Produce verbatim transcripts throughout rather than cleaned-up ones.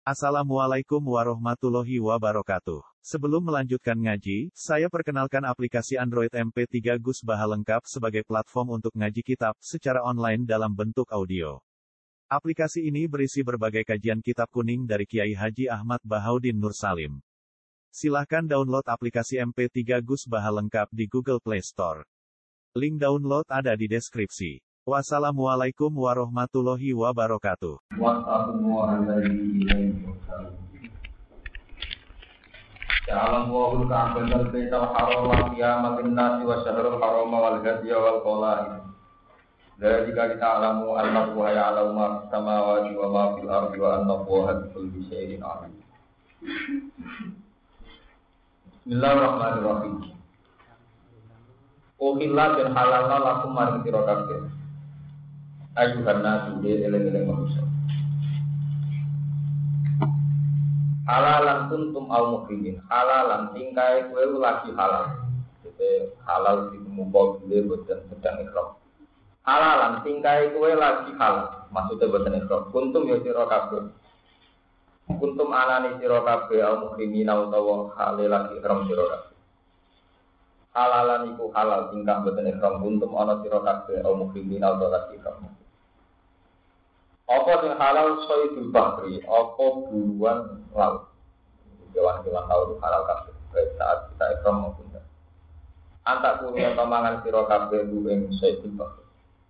Assalamualaikum warahmatullahi wabarakatuh. Sebelum melanjutkan ngaji, saya perkenalkan aplikasi Android M P tiga Gus Baha lengkap sebagai platform untuk ngaji kitab secara online dalam bentuk audio. Aplikasi ini berisi berbagai kajian kitab kuning dari Kiai Haji Ahmad Bahaudin Nur Salim. Silahkan download aplikasi M P tiga Gus Baha lengkap di Google Play Store. Link download ada di deskripsi. Wassalamualaikum warahmatullahi wabarakatuh. Ja'alam wa'ul ka'bal baital haram qiyamatin nasi wa syahrul haram wal hadiya wal qala'i. Dari jika kita alamu annahu ya'lamu ma fis samawati wa ma fil ardi wa annahu bi syai'in alim. Bismillahirrahmanirrahim. Uhilla dan halalna lakum maring sira kabeh. Ayuhan nasu de eleng-eleng manusia. Halalan kuntum au mukrimin. Halalan tingkai kowe lagi halal. Jadi halal dimumpul dhewe boten sedang ikhram. Halalan tingkai kowe lagi halal. Maksudnya boten ikhram. Kuntum ya sira kabeh. Kuntum anani sira kabeh au mukrimin utawa halal lagi ikhram sira kabeh. Halalan iku halal tingkah boten ikhram kuntum ana sira kabeh au mukrimin utawa lagi ikhram. Apa yang halal soidul bahri, apa buruan laut. Hewan-hewan laut halal kabeh. Baik saat kita ikhram maupun tidak. Antak kuliah tomangan sira kabeh ing soidul bahri.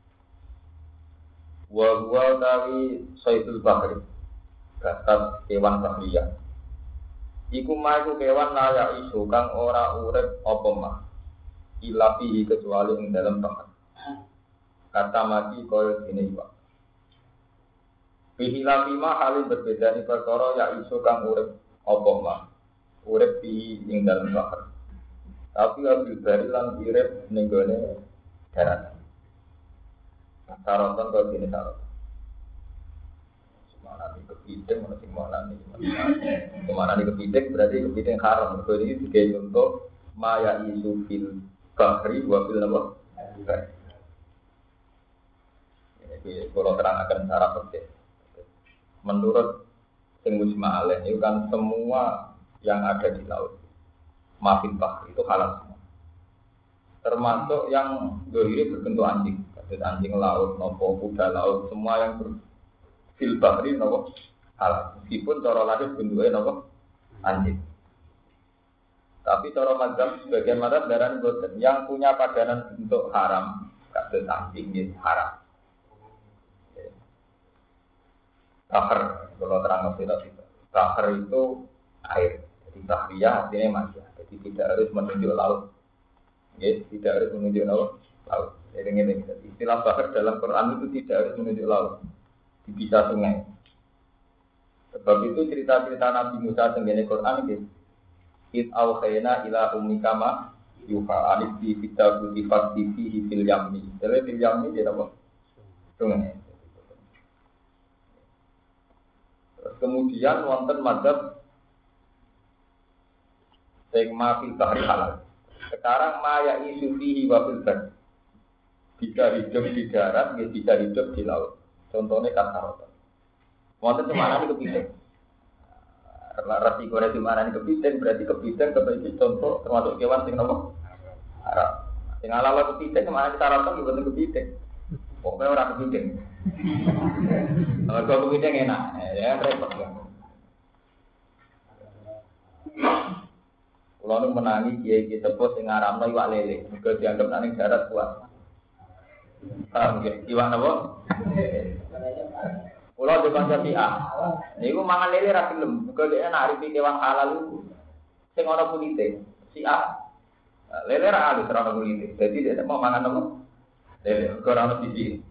Wa huwa tawi soidul bahri. Gatat hewan bahriyah. Iku mah iku kewan layak isu kang ora urip apa mah. Ilapi kecuali ing dalam bahar. Kata mati koyo dene iwak. Bihilafi ma halin berbeda ni perkara ya iso kang urip apa mah urip di ing dalam bahar tapi abil bari lan urip ning gone darat sarotan kok dene sarot semana iki kepiting ana sing mana iki semana iki kepiting berarti kepiting haram kok iki digawe contoh ma ya iso fil bahri wa fil nama ini kalau terang akan cara penting. Menurut sing mujma' alaih itu kan semua yang ada di laut mafil bahri itu halal semua. Termasuk yang dohiri berbentuk anjing, kasus anjing laut, nopo kuda laut, semua yang berfil bahri nopo halal. Meskipun cara lahir bentuknya nopo anjing. Tapi cara mazhab sebagian mazhab darani boten yang punya padanan bentuk haram, kasus anjing ini haram. Bahar, kalau terang tidak tidak. Bahar itu air, jadi bahriyah artinya masih. Jadi tidak harus menunjuk laut, ya, tidak harus menunjuk laut. Laut. Jadi ini istilah bahar dalam Quran itu tidak harus menunjuk laut, bisa sungai. Sebab itu cerita-cerita Nabi Musa tentang Quran ini. It awhayna ila ummika ma yuha alif bi fitabu di faktifi fil yammi. Jadi fil yammi dia apa? Sungai. Kemudian wonten mazhab sing mafil bahri halal. Sekarang maya isu fihi wa fil bahri. Bisa hidup di darat, bisa hidup di laut. Contohnya kasarota. Wonten cemana ini kepiting. Resiko dari cemana ini kepiting berarti kepiting sebagai contoh termasuk kewan sing nopo haram. Sing halal kepiting cemana kasarota juga kepiting. Pokoknya orang kepiting. Kalau kau kepiting enak, ya repot kan. Kalau nu menangi kiai kita pun sing ngaramno iwak lele, mergo dianggap nang darat kuat. Paham nggih? Iwak napa? Kulo di kanca si A. Niku mangan lele ra gelem, mergo dhek nak arifi kewan halal iku sing ana kulite. Si A. Lele ra alus ra ana kulite. Dadi dhek mau mangan napa? Lele, ora ana siji.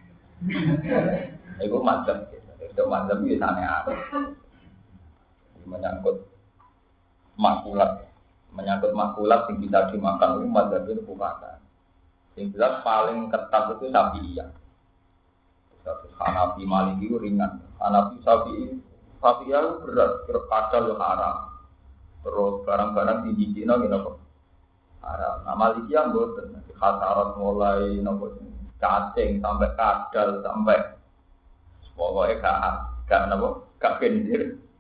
Iku mazhab, itu mazhab itu aneh-aneh. Menyangkut makulat, menyangkut makulat yang bisa dimakan itu mazhab itu bukan. Yang jelas paling ketat itu Syafi'iyah. Terus Hanafi Maliki itu ringan. Hanafi Syafi'i, Syafi'iyah itu berat, kadal itu haram. Terus barang-barang tinggi Cina gitu haram. Nah Maliki yang boten, khasarat mulai nopo cacing sampai kadal sampai pokoknya gak gak napa gak gendir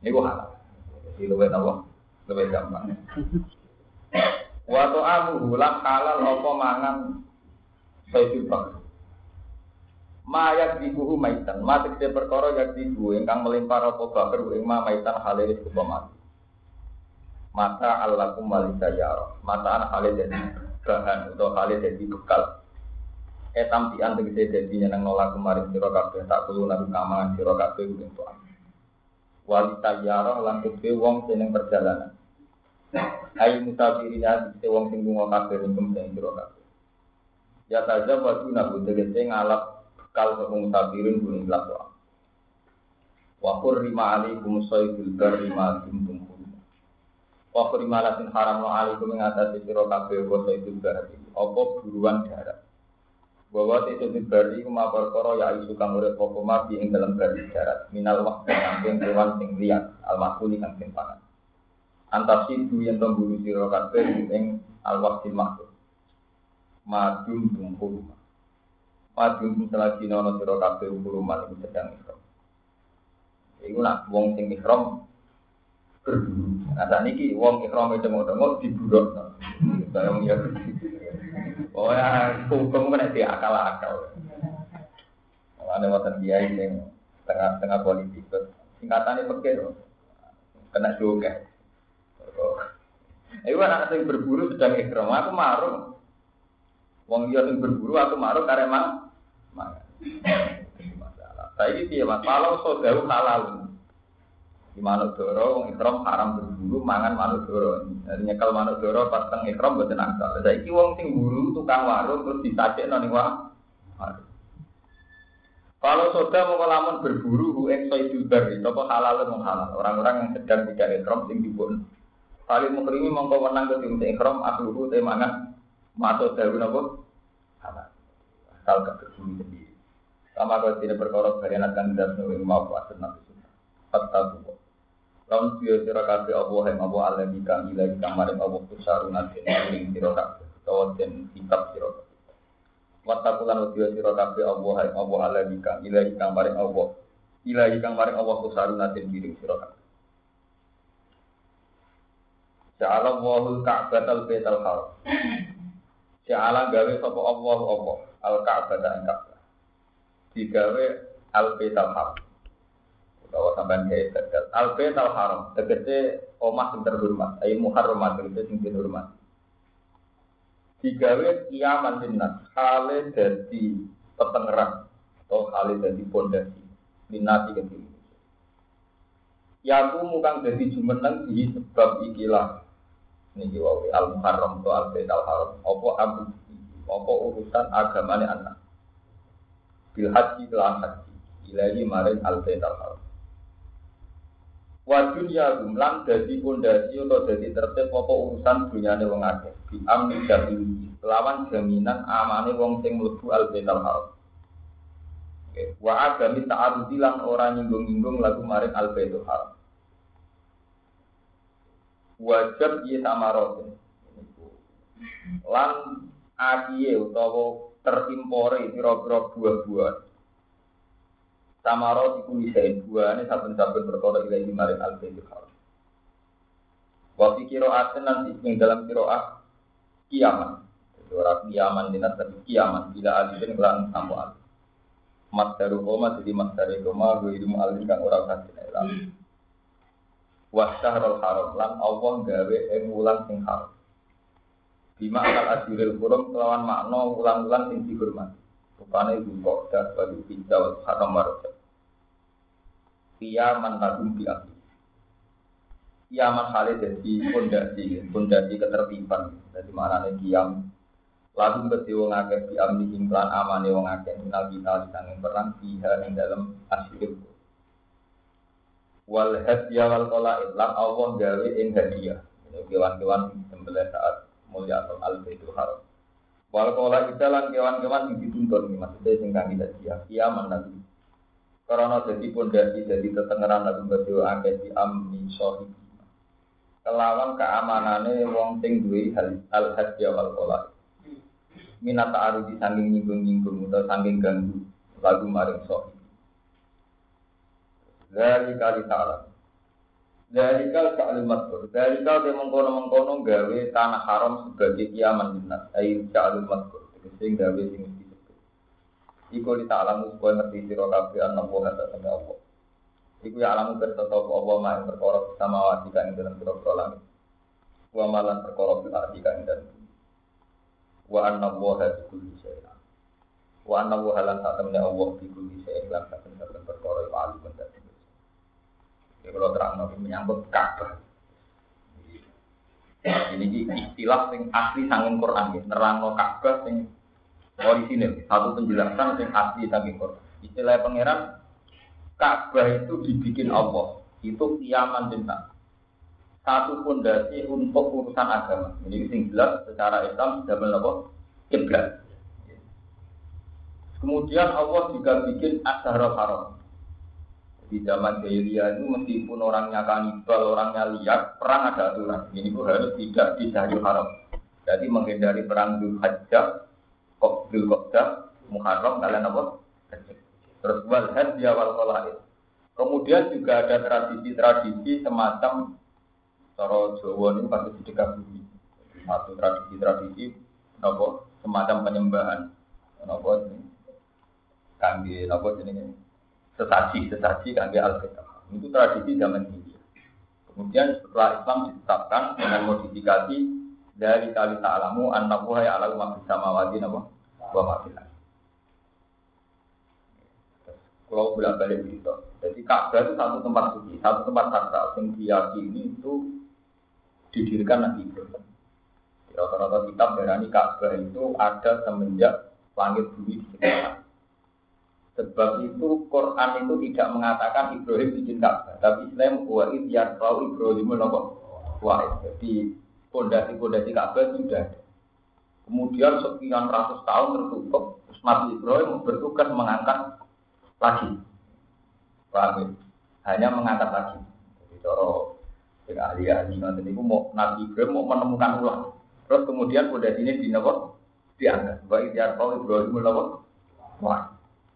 Niku halal. Jadi luwih napa? Luwih gampang. Wa ta'amu lan halal apa mangan sayyid bak. Mayak dibuhu maitan, matik se perkara yak dibu ingkang melimpar apa bakar ing ma maitan halal kuwi mati. Mata allakum walisayara, mata an halal dadi bahan utawa halal dadi bekal. Etam pian tegese dadi nyeneng nolak kemarin sira kabeh tak kulo nang kamangan sira kabeh ing tuan. Walisayara lan kuwi wong seneng perjalanan. Ayo musafirina dite wong sing lunga kabeh ing sing sira kabeh. Ya taja wa guna tegese ngalap kal kang sabirin kuwi lakwa. Wa qurrima alaikum sayyidul barri ma kuntum hum. Wa qurrima latin haramna alaikum ing atase sira kabeh wa sayyidul barri. Apa buruan darat. Bahwa sayyidul barri kuma perkara ya isu kang urip apa mati ing dalam barri darat. Minal waqti saking kewan sing liyan al-makuli kang sing pangan. Antasidu yen temburu sira kabeh ing al-waqti makhluk. Madum tungkul. Madum selagi nono sira kabeh ukuluman ing sedang ikram. Iku nak wong sing ikram berburu. Nah saniki wong ikram cengok-cengok diburuk. Bayang ya. Oh ya, hukum kan diakal-akal. Ana wonten kiai sing tengah-tengah politik. Singkatane pekeh kena juga. Iku anak sing berburu sedang ikram, aku marung. Wong dia sing berburu aku marung karek mang. Mangan. Masalah. Saiki piye Mas? Kalau saudara halal. Di manuk doro wong ikram haram berburu mangan manuk doro. Jadi nyekel manuk doro pas teng ikram mboten asal. Saiki wong sing buru tukang warung terus disajekno ning warung. Kalau saudara mau lamun berburu ing sayyidul barri, apa halal atau halal? Orang-orang yang sedang tidak ikram sing dipun Kali mukrimi mongko menang ke tim ikram akluhu te mangan masuk dalu napa? Halal. Asal kebersih sendiri. Sama kau tidak berkorok barianat kan tidak sesuai mau puasa nabi sunnah. Fatta tuh. Lawan biar sirah kafe Allah yang Allah Allah di kami lagi kamarin Allah kusarun nanti ning sirah kafe. Kau dan kitab sirah kafe. Wattaqulan biar sirah kafe Allah yang Allah Allah di kami lagi kamarin Allah. Ilahi kamarin Allah kusarun nanti ning sirah kafe. Ja'ala Allahul Ka'batal Baitul Haram. Ja'ala gawe sapa Allah apa al-Ka'bata ing Ka'bah. Digawe al-Baitul Haram. Utawa sampean gawe tegal al-Baitul Haram, tegese omah sing terhormat, ayo muharramat tegese sing terhormat. Digawe kiaman linnas, hale dadi petengerang atau hale dadi pondasi minati kedhi. Yaku mukang dadi jumeneng di sebab ikilah niki wae al-muharram to al-baitul haram apa abu apa urusan agamane anak bil haji lan haji ilahi maring al-baitul haram wa dunya lan dadi pondasi utawa dadi tertib apa urusan dunyane wong akeh bi amni jamin lawan jaminan amane wong sing mlebu al-baitul haram wa agami ta'arudi lan ora nyinggung-nyinggung lagu maring al-baitul haram wajib ye samaroten lan akiye utawa terimpore pira-pira buah-buah samarot iku isih buahane saben-saben perkara ilahi maring al-baitul haram wa fi qira'atin lan ing dalam qira'ah kiamat ora kiamat dinat tapi kiamat bila alifin lan sampo alif masdaru koma jadi masdare koma wa ilmu alif kang ora kasih ilang wa syahrul haram lan Allah gawe ing wulan sing haram. Bima akal ajrul hurum kelawan makna wulan-wulan sing dihormati. Rupane Zulqa'dah wa Dzulhijjah wal Muharram Rajab. Kiaman tadum bi akhi. Kiaman hale dadi pondasi, pondasi ketertiban. Dadi maknane kiam lalu beti wong akeh diamni ing lan amane wong akeh minal kita sing perang biha ing dalem asyir. Wal hadiah wal qalaid lan Allah gawe ing hadiah. Kewan-kewan sembelih saat mulya al-baitul haram. Wal qalaid lan kewan-kewan sing dituntun maksudnya sing kangge hadiah. Kiaman nanti. Karena dadi pondasi dadi tetengeran lan beti akeh di amni sahibi. Kelawan keamanane wong sing duwe al hadiah wal qalaid. Minat ta'arudi saking nyinggung-nyinggung utawa saking ganggu lagu maring sahibi. Dari kali ta'ala Dari kau caklim matur, dari kau dia mengkono-mengkono gawe tanah haram sebagai kiaman dinas, air caklim matur, sing gawe sing disebut. Iku li ta'lamu supaya ngerti sira kabeh ana wa kata sama Allah. Iku ya alamu kersa sapa apa mak ing perkara samawati kang ing dalem pira-pira langit. Wa malan perkara bil ardi kang ing dalem. Wa anna wa bi kulli syai'in. Wa anna wa lan ta'lamu Allah bi kulli syai'in lan saben-saben perkara iku alim dan ya kalau terang nabi menyangkut Ka'bah. Ini istilah yang asli sanging Quran ya, nerangno Ka'bah yang orisinil, satu penjelasan yang asli sanging Quran. Istilah pangeran Ka'bah itu dibikin Allah, itu kiaman bintang. Satu fondasi untuk urusan agama. Ini yang jelas secara Islam sudah melakukan kiblat. Kemudian Allah juga bikin Asharul Haram. Di zaman jahiliyah itu meskipun orangnya kanibal, orangnya liar, perang ada aturan. Ini pun harus tidak di Syahrul Haram. Jadi menghindari perang Dzulhijjah, Dzulqa'dah, Muharram, kalian apa? Terus wal hajj wal qalaid. Kemudian juga ada tradisi-tradisi semacam cara Jawa ini pasti sedekah bumi. Satu tradisi-tradisi apa? Semacam penyembahan. Apa ini? Kangge apa jenenge? Sesaji, sesaji kangge al-Fatihah. Itu tradisi zaman ini. Kemudian setelah Islam ditetapkan dengan modifikasi dari kali ta'alamu annahu ya'lamu ma fis samawati wa ma fil ardi. Kalau bolak-balik itu. Jadi Ka'bah itu satu tempat suci, satu tempat sakral yang diyakini itu didirikan Nabi Ibrahim. Rata-rata kitab berani Ka'bah itu ada semenjak langit bumi diciptakan. Sebab itu Quran itu tidak mengatakan Ibrahim bikin Ka'bah, tapi Islam wa id yarfa'u Ibrahim wa jadi pondasi-pondasi Ka'bah sudah ada. Kemudian sekian ratus tahun tertutup, terus Nabi Ibrahim bertugas mengangkat lagi. Paham? Hanya mengangkat lagi. Jadi cara dengan ahli-ahli nanti itu mau Nabi Ibrahim mau menemukan ulang. Terus kemudian pondasi ini dinapa? Diangkat. Wa id yarfa'u Ibrahim wa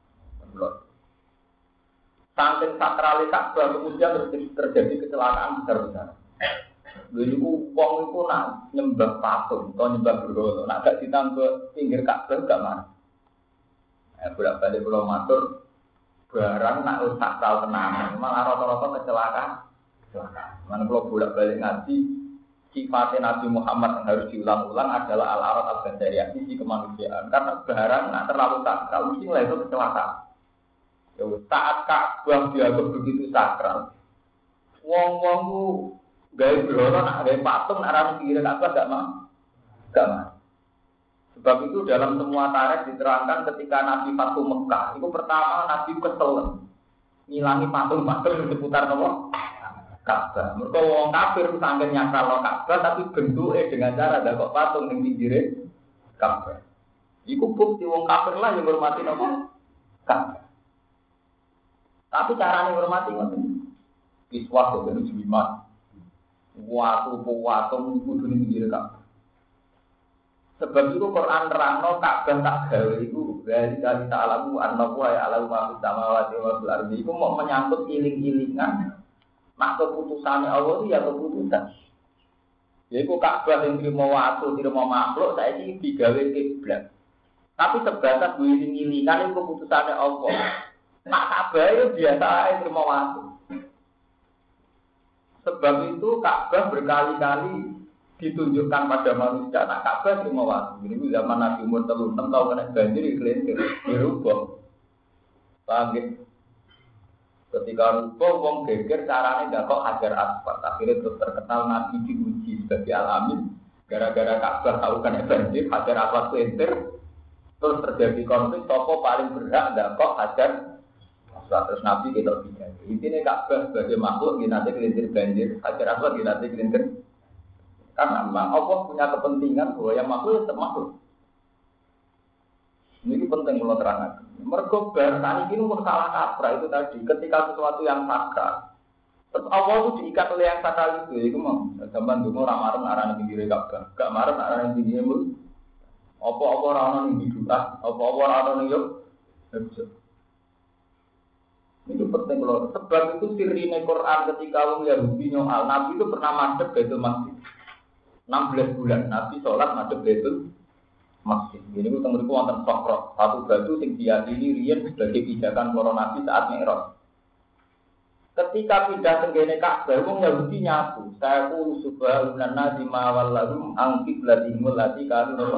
saking sakrali Ka'bah kemudian terjadi kecelakaan besar-besar. Lalu wong itu nak nyembah patung atau nyembah berhala, nak gak ditambah pinggir Ka'bah gak mana. Eh bolak-balik kula matur barang nak sakral tenan, malah rata-rata kecelakaan. Kecelakaan. Mana kula bolak-balik ngaji sifatnya Nabi Muhammad yang harus diulang-ulang adalah al-arat al-basyariyah, sisi kemanusiaan. Karena barang nak terlalu sakral mesti lah itu kecelakaan. Ya, saat Ka'bah dianggap begitu sakral, wong-wong ku gawe berhala nak gawe patung nak ra mikir Ka'bah gak mau. Gak mau. Sebab itu dalam semua tarikh diterangkan ketika Nabi Fatu Mekah, itu pertama Nabi kesel ngilangi patung-patung di seputar nopo Ka'bah. Mergo wong kafir saking nyakral Ka'bah tapi bentuke dengan cara ndakok patung ning pinggire Ka'bah. Iku bukti wong kafir lah yang hormati nopo Ka'bah. Tapi caranya hormati ngoten. Kiswah dengan jimat. Watu watu kudu ning pinggir Ka'bah. Sebab itu Quran nerangno Ka'bah tak gawe iku dari kali ta'alamu annahu ya'lamu ma fis samawati wa fil ardi. Iku mau menyangkut iling-ilingan mak keputusane Allah itu ya keputusan. Yaiku Ka'bah yang terima watu, terima makhluk saiki digawe kiblat. Tapi sebatas iling-ilingan itu keputusane Allah. Nak Ka'bah itu biasa aja terima waktu. Sebab itu Ka'bah berkali-kali ditunjukkan pada manusia. Nak Ka'bah terima waktu. Ini zaman Nabi umur tiga puluh enam tahun kena banjir iklim dirubah. Paham ya? Ketika rubah, wong geger caranya nggak kok hajar asfalt. Akhirnya terus terkenal Nabi diuji sebagai alamin. Gara-gara Ka'bah tahu kena banjir, hajar asfalt selintir. Terus terjadi konflik. Toko paling berhak nggak kok hajar. Terus Nabi kita bilang, intinya Ka'bah sebagai makhluk nanti kelintir banjir, hajar aswad nanti kelintir. Karena memang Allah punya kepentingan bahwa yang makhluk tetap makhluk. Ini penting kalau terangkan. Mergo bahasa ini pun salah kaprah itu tadi. Ketika sesuatu yang sakral, terus Allah itu diikat oleh yang sakral itu. Itu mau zaman dulu orang marah arah yang pinggir Ka'bah, gak marah arah yang pinggir mul. Apa-apa orang yang hidup, apa-apa orang yang hidup. Itu penting loh. Sebab itu sirine Quran ketika wong Yahudi nyoal, Nabi itu pernah madhep Baitul Maqdis. enam belas bulan Nabi sholat madhep Baitul Maqdis. Ini ku teng mriku wonten Sokro, satu batu sing diyakini riyen sebagai pijakan para nabi saat Mi'raj. Ketika pindah tenggene Ka'bah, wong Yahudi nyatu. Saya ku subhanallah nazima wallahum angkib ladimul lati kanu.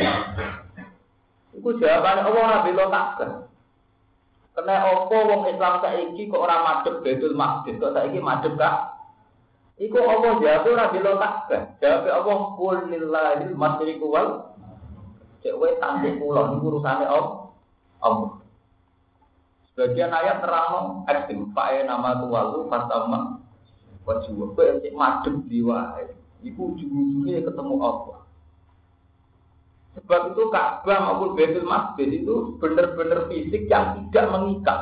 Iku jawabane Allah ora bela Ka'bah. Kena apa wong Islam saiki kok ora madhep Baitul Maqdis, kok saiki madhep Ka'bah? Iku Allah jawab ora bela Ka'bah. Jawab Allah qul lillahil masyriqu wal cek wae tandhe kula niku urusane Allah. Sebagian ayat terang ekstrim, fae nama tuwalu fatama wajhu. Kowe cek madhep diwae. Iku ujug-ujuge ketemu Allah. Sebab itu Ka'bah maupun Baitul Maqdis itu benar-benar fisik yang tidak mengikat.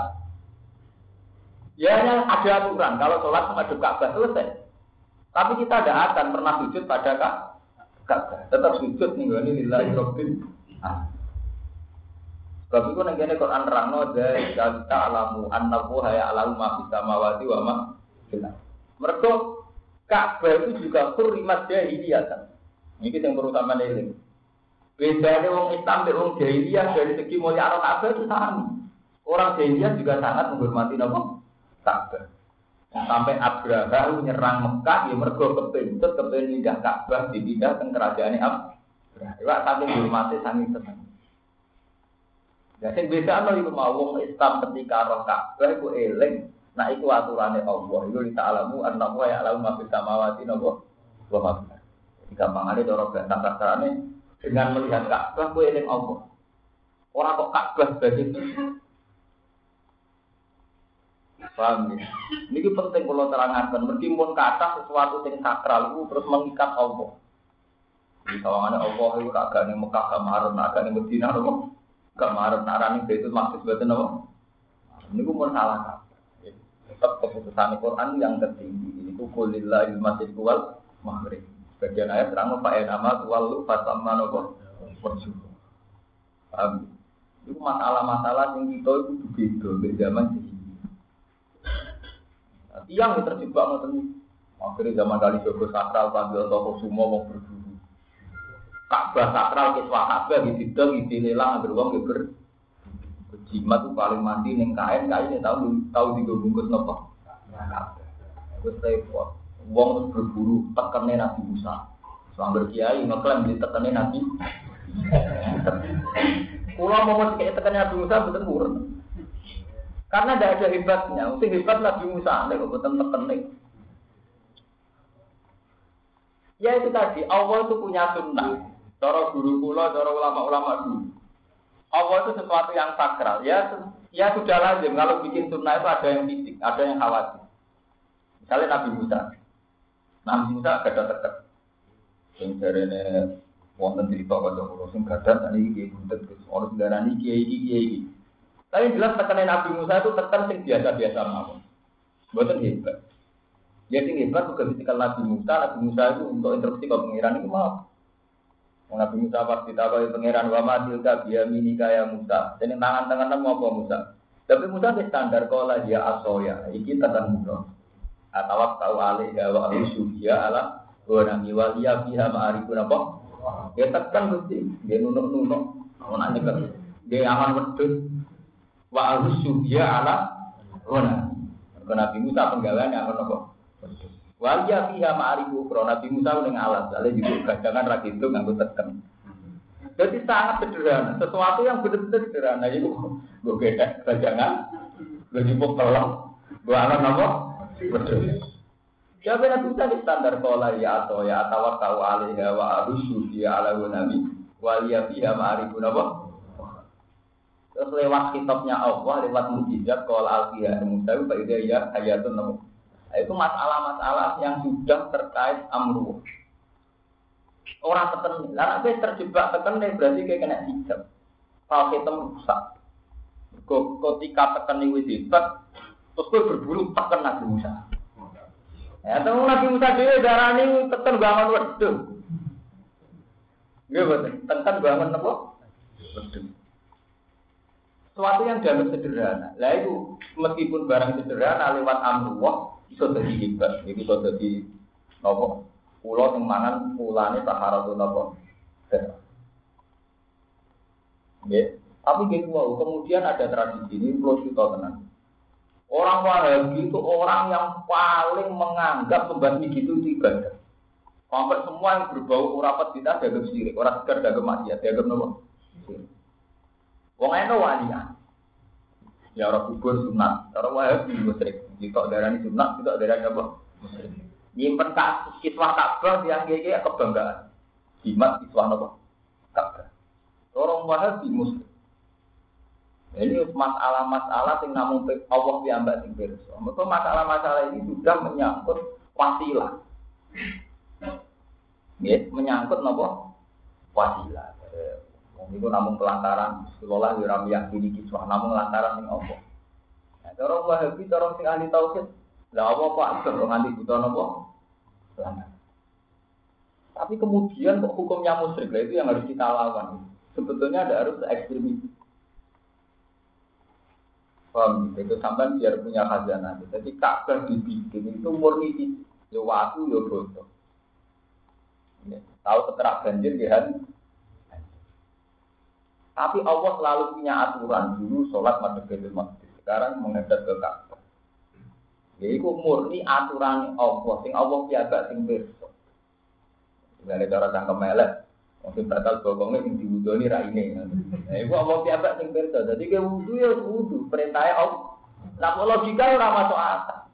Ya hanya ada aturan kalau sholat menghadap Ka'bah selesai. Tapi kita tidak akan pernah sujud pada Ka'bah. Tetap sujud nih ini lillahi rabbil alamin. Sebab itu nih Quran terangno dari kita alamu annahu ya'lamu ma fis samawati wa ma fil ardh. Mergo Ka'bah itu juga hurrimat jahiliyah kan. Ini yang perlu sampeyan eling. Bedanya wong Islam dan wong jahiliyah dari segi mulia Ka'bah itu sama. Orang jahiliyah juga sangat menghormati nama Ka'bah. Sampai Abraha nyerang Mekah, ya mergo kepintut, kepintut pindah Ka'bah, dipindah ke kerajaan Abraha. Iwak saking hormati, saking senang. Ya, sing beda no iku mau wong Islam ketika roh Ka'bah iku eling, nah iku aturane Allah. Iku ta'alamu annahu ya'lamu ma fis samawati wa ma fil ardh. Jadi gampangane cara bahasa kasarane dengan melihat Ka'bah kowe eling Allah. Ora kok Ka'bah sebagai paham ya? Ini penting kalau terangkan. Meskipun kata sesuatu yang sakral itu terus mengikat Allah. Di kawangannya Allah itu agak nih Mekah kemarin, agak nih Medina loh. Kemarin narani itu maksud betul loh. Ini pun masalah. Tetap keputusan Quran yang tertinggi. Ini kulillahil masjidil wal maghrib. Bagian ayat terang Pak nama tuwalu fatamma nopo. Paham? Itu masalah-masalah yang kita itu beda di zaman ini. Tiang yang terjebak ngoten. Akhirnya zaman kali Jogo sakral panggil toko semua mau berburu. Ka'bah sakral kiswah Ka'bah gitu gitu lelang beruang ber. Jimat tuh paling mandi neng kain kain tahu tahu digabungkus nopo. Terus repot. Wong berburu tekannya Nabi Musa. Sambil kiai ngeklaim di tekannya Nabi. Pulau mau kayak tekannya Nabi Musa betul burun. Karena tidak ada hebatnya, mesti hebat Nabi Musa, nek betul tekenik. Ya itu tadi, Allah itu punya sunnah. Cara guru kula, cara ulama-ulama dulu. Allah itu sesuatu yang sakral. Ya, ya sudah lazim kalau bikin sunnah itu ada yang fisik, ada yang khawatir. Misalnya Nabi Musa, Nabi Musa gak ada teket. Yang jarene wonten cerita kocok sing gadah tadi iki buntet orang darani kiai iki kiai iki. Tapi jelas tekanan Nabi Musa itu tekan sing biasa-biasa mawon. Mboten hebat. Ya sing hebat juga ketika Nabi Musa, Nabi Musa itu untuk instruksi ke pangeran itu mau. Nabi Musa pas ditawahi pangeran wa ma tilka biyaminika ya Musa. Jeneng tangan-tangan mau apa Musa? Tapi Musa wis standar kala dia asoya. Iki tekan Musa. Atawak tau alih wa usubiya ala wa nami wa liya biha ma'arifun apa? Ya tekan Gusti, dia nunuk-nunuk. Ana nyekel. Dia aman wedhus. Wa al-subya ala wana. Nabi Musa penggaweane apa apa? Wa ya fiha ma'arifu ukra. Nabi Musa ning alat, ale juga gadangan ra gitu nganggo teken. Jadi sangat sederhana, sesuatu yang benar-benar sederhana itu nggo gedek gadangan, nggo jupuk telong, nggo alat apa? Betul. Siapa Nabi Musa di standar qala ya atau ya tawakkal alaiha wa al-subya ala nabi wa ya fiha ma'arifu apa? Terus lewat kitabnya Allah, lewat mukjizat kalau al-Qiyah Musa itu pada ya hayatun nabi. Itu masalah-masalah yang sudah terkait amruh. Orang teken, lah nek terjebak teken berarti kayak kena hijab. Kalau kita rusak. Ketika teken wis hebat, terus kowe berburu teken Nabi Musa. Ya, temu Nabi Musa dhewe darani teken bangun wedhus. Nggih, boten. Teken bangun napa? Wedhus. Sesuatu yang dianggap sederhana. Lah itu meskipun barang sederhana lewat amrullah iso dadi hebat. Iki iso dadi napa? Pulau sing mangan pulane taharatun napa? Nggih. Tapi gitu wow, kemudian ada tradisi ini perlu kita tenang. Orang Wahabi itu orang yang paling menganggap membasmi gitu itu ibadah. Sampai semua yang berbau urapat kita dianggap sirik, orang sekedar dianggap maksiat, dianggap nopo? Sirik. Wong eno walian. Ya orang kubur sunat, orang Wahabi musyrik. Kita darani sunat, kita darani apa? Musyrik. Nyimpen kasus kiswah Ka'bah yang kaya kebanggaan. Jimat kiswah nopo? Ka'bah. Orang Wahabi musyrik. Ini masalah-masalah yang namun Allah piyambak sing pirsa. Mergo masalah-masalah ini sudah menyangkut wasilah. Nggih, menyangkut napa? Wasilah. Wong niku namung pelantaran sekolah yo ora meyakini kiswah namung lantaran ning apa. Nah, cara Wahabi cara sing ahli tauhid, lha apa kok atur nganti buta napa? Tapi kemudian kok hukumnya musyrik, itu yang harus kita lawan. Sebetulnya ada harus ekstremis. Paham, itu sampai biar punya khazanah. Jadi Ka'bah dibikin itu murni ya waktu ya bodoh. Ya, tahu seterak banjir kan? Tapi Allah selalu punya aturan dulu sholat madhep Baitul Maqdis. Sekarang menghadap ke Ka'bah. Ya itu murni aturan Allah. Sing Allah piagak sing pirsa. Dengan cara cangkem elek. Mungkin batal bokongnya yang diwudoni raine. Nah, itu Allah piambak sing pirsa. Jadi ke wudu ya wudu, perintahnya Allah. Nah, logika ora masuk akal.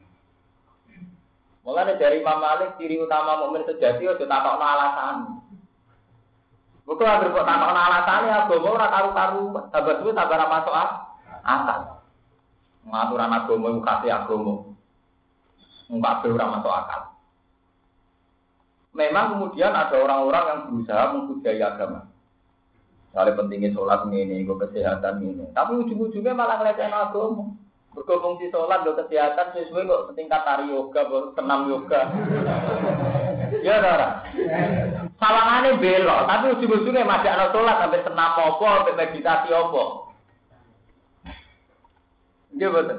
Mulane dari Imam Malik ciri utama mukmin sejati aja takokno alasan. Bukan agar kok takokno alasane agama ora karu-karu, tambah suwe tambah ora masuk akal. Ngaturan agama iku kasih agama. Mbak ora masuk akal. Memang kemudian ada orang-orang yang berusaha menghujai agama. Soalnya pentingnya sholat ini, gue kesehatan ini. Tapi ujung-ujungnya malah ngelecehin agama. Bergabung di sholat, gue kesehatan, sesuai kok setingkat tari yoga, senam yoga. Ya, saudara. Salangannya belok, tapi ujung-ujungnya masih ada sholat, sampai senam apa, sampai meditasi apa. Iya, betul.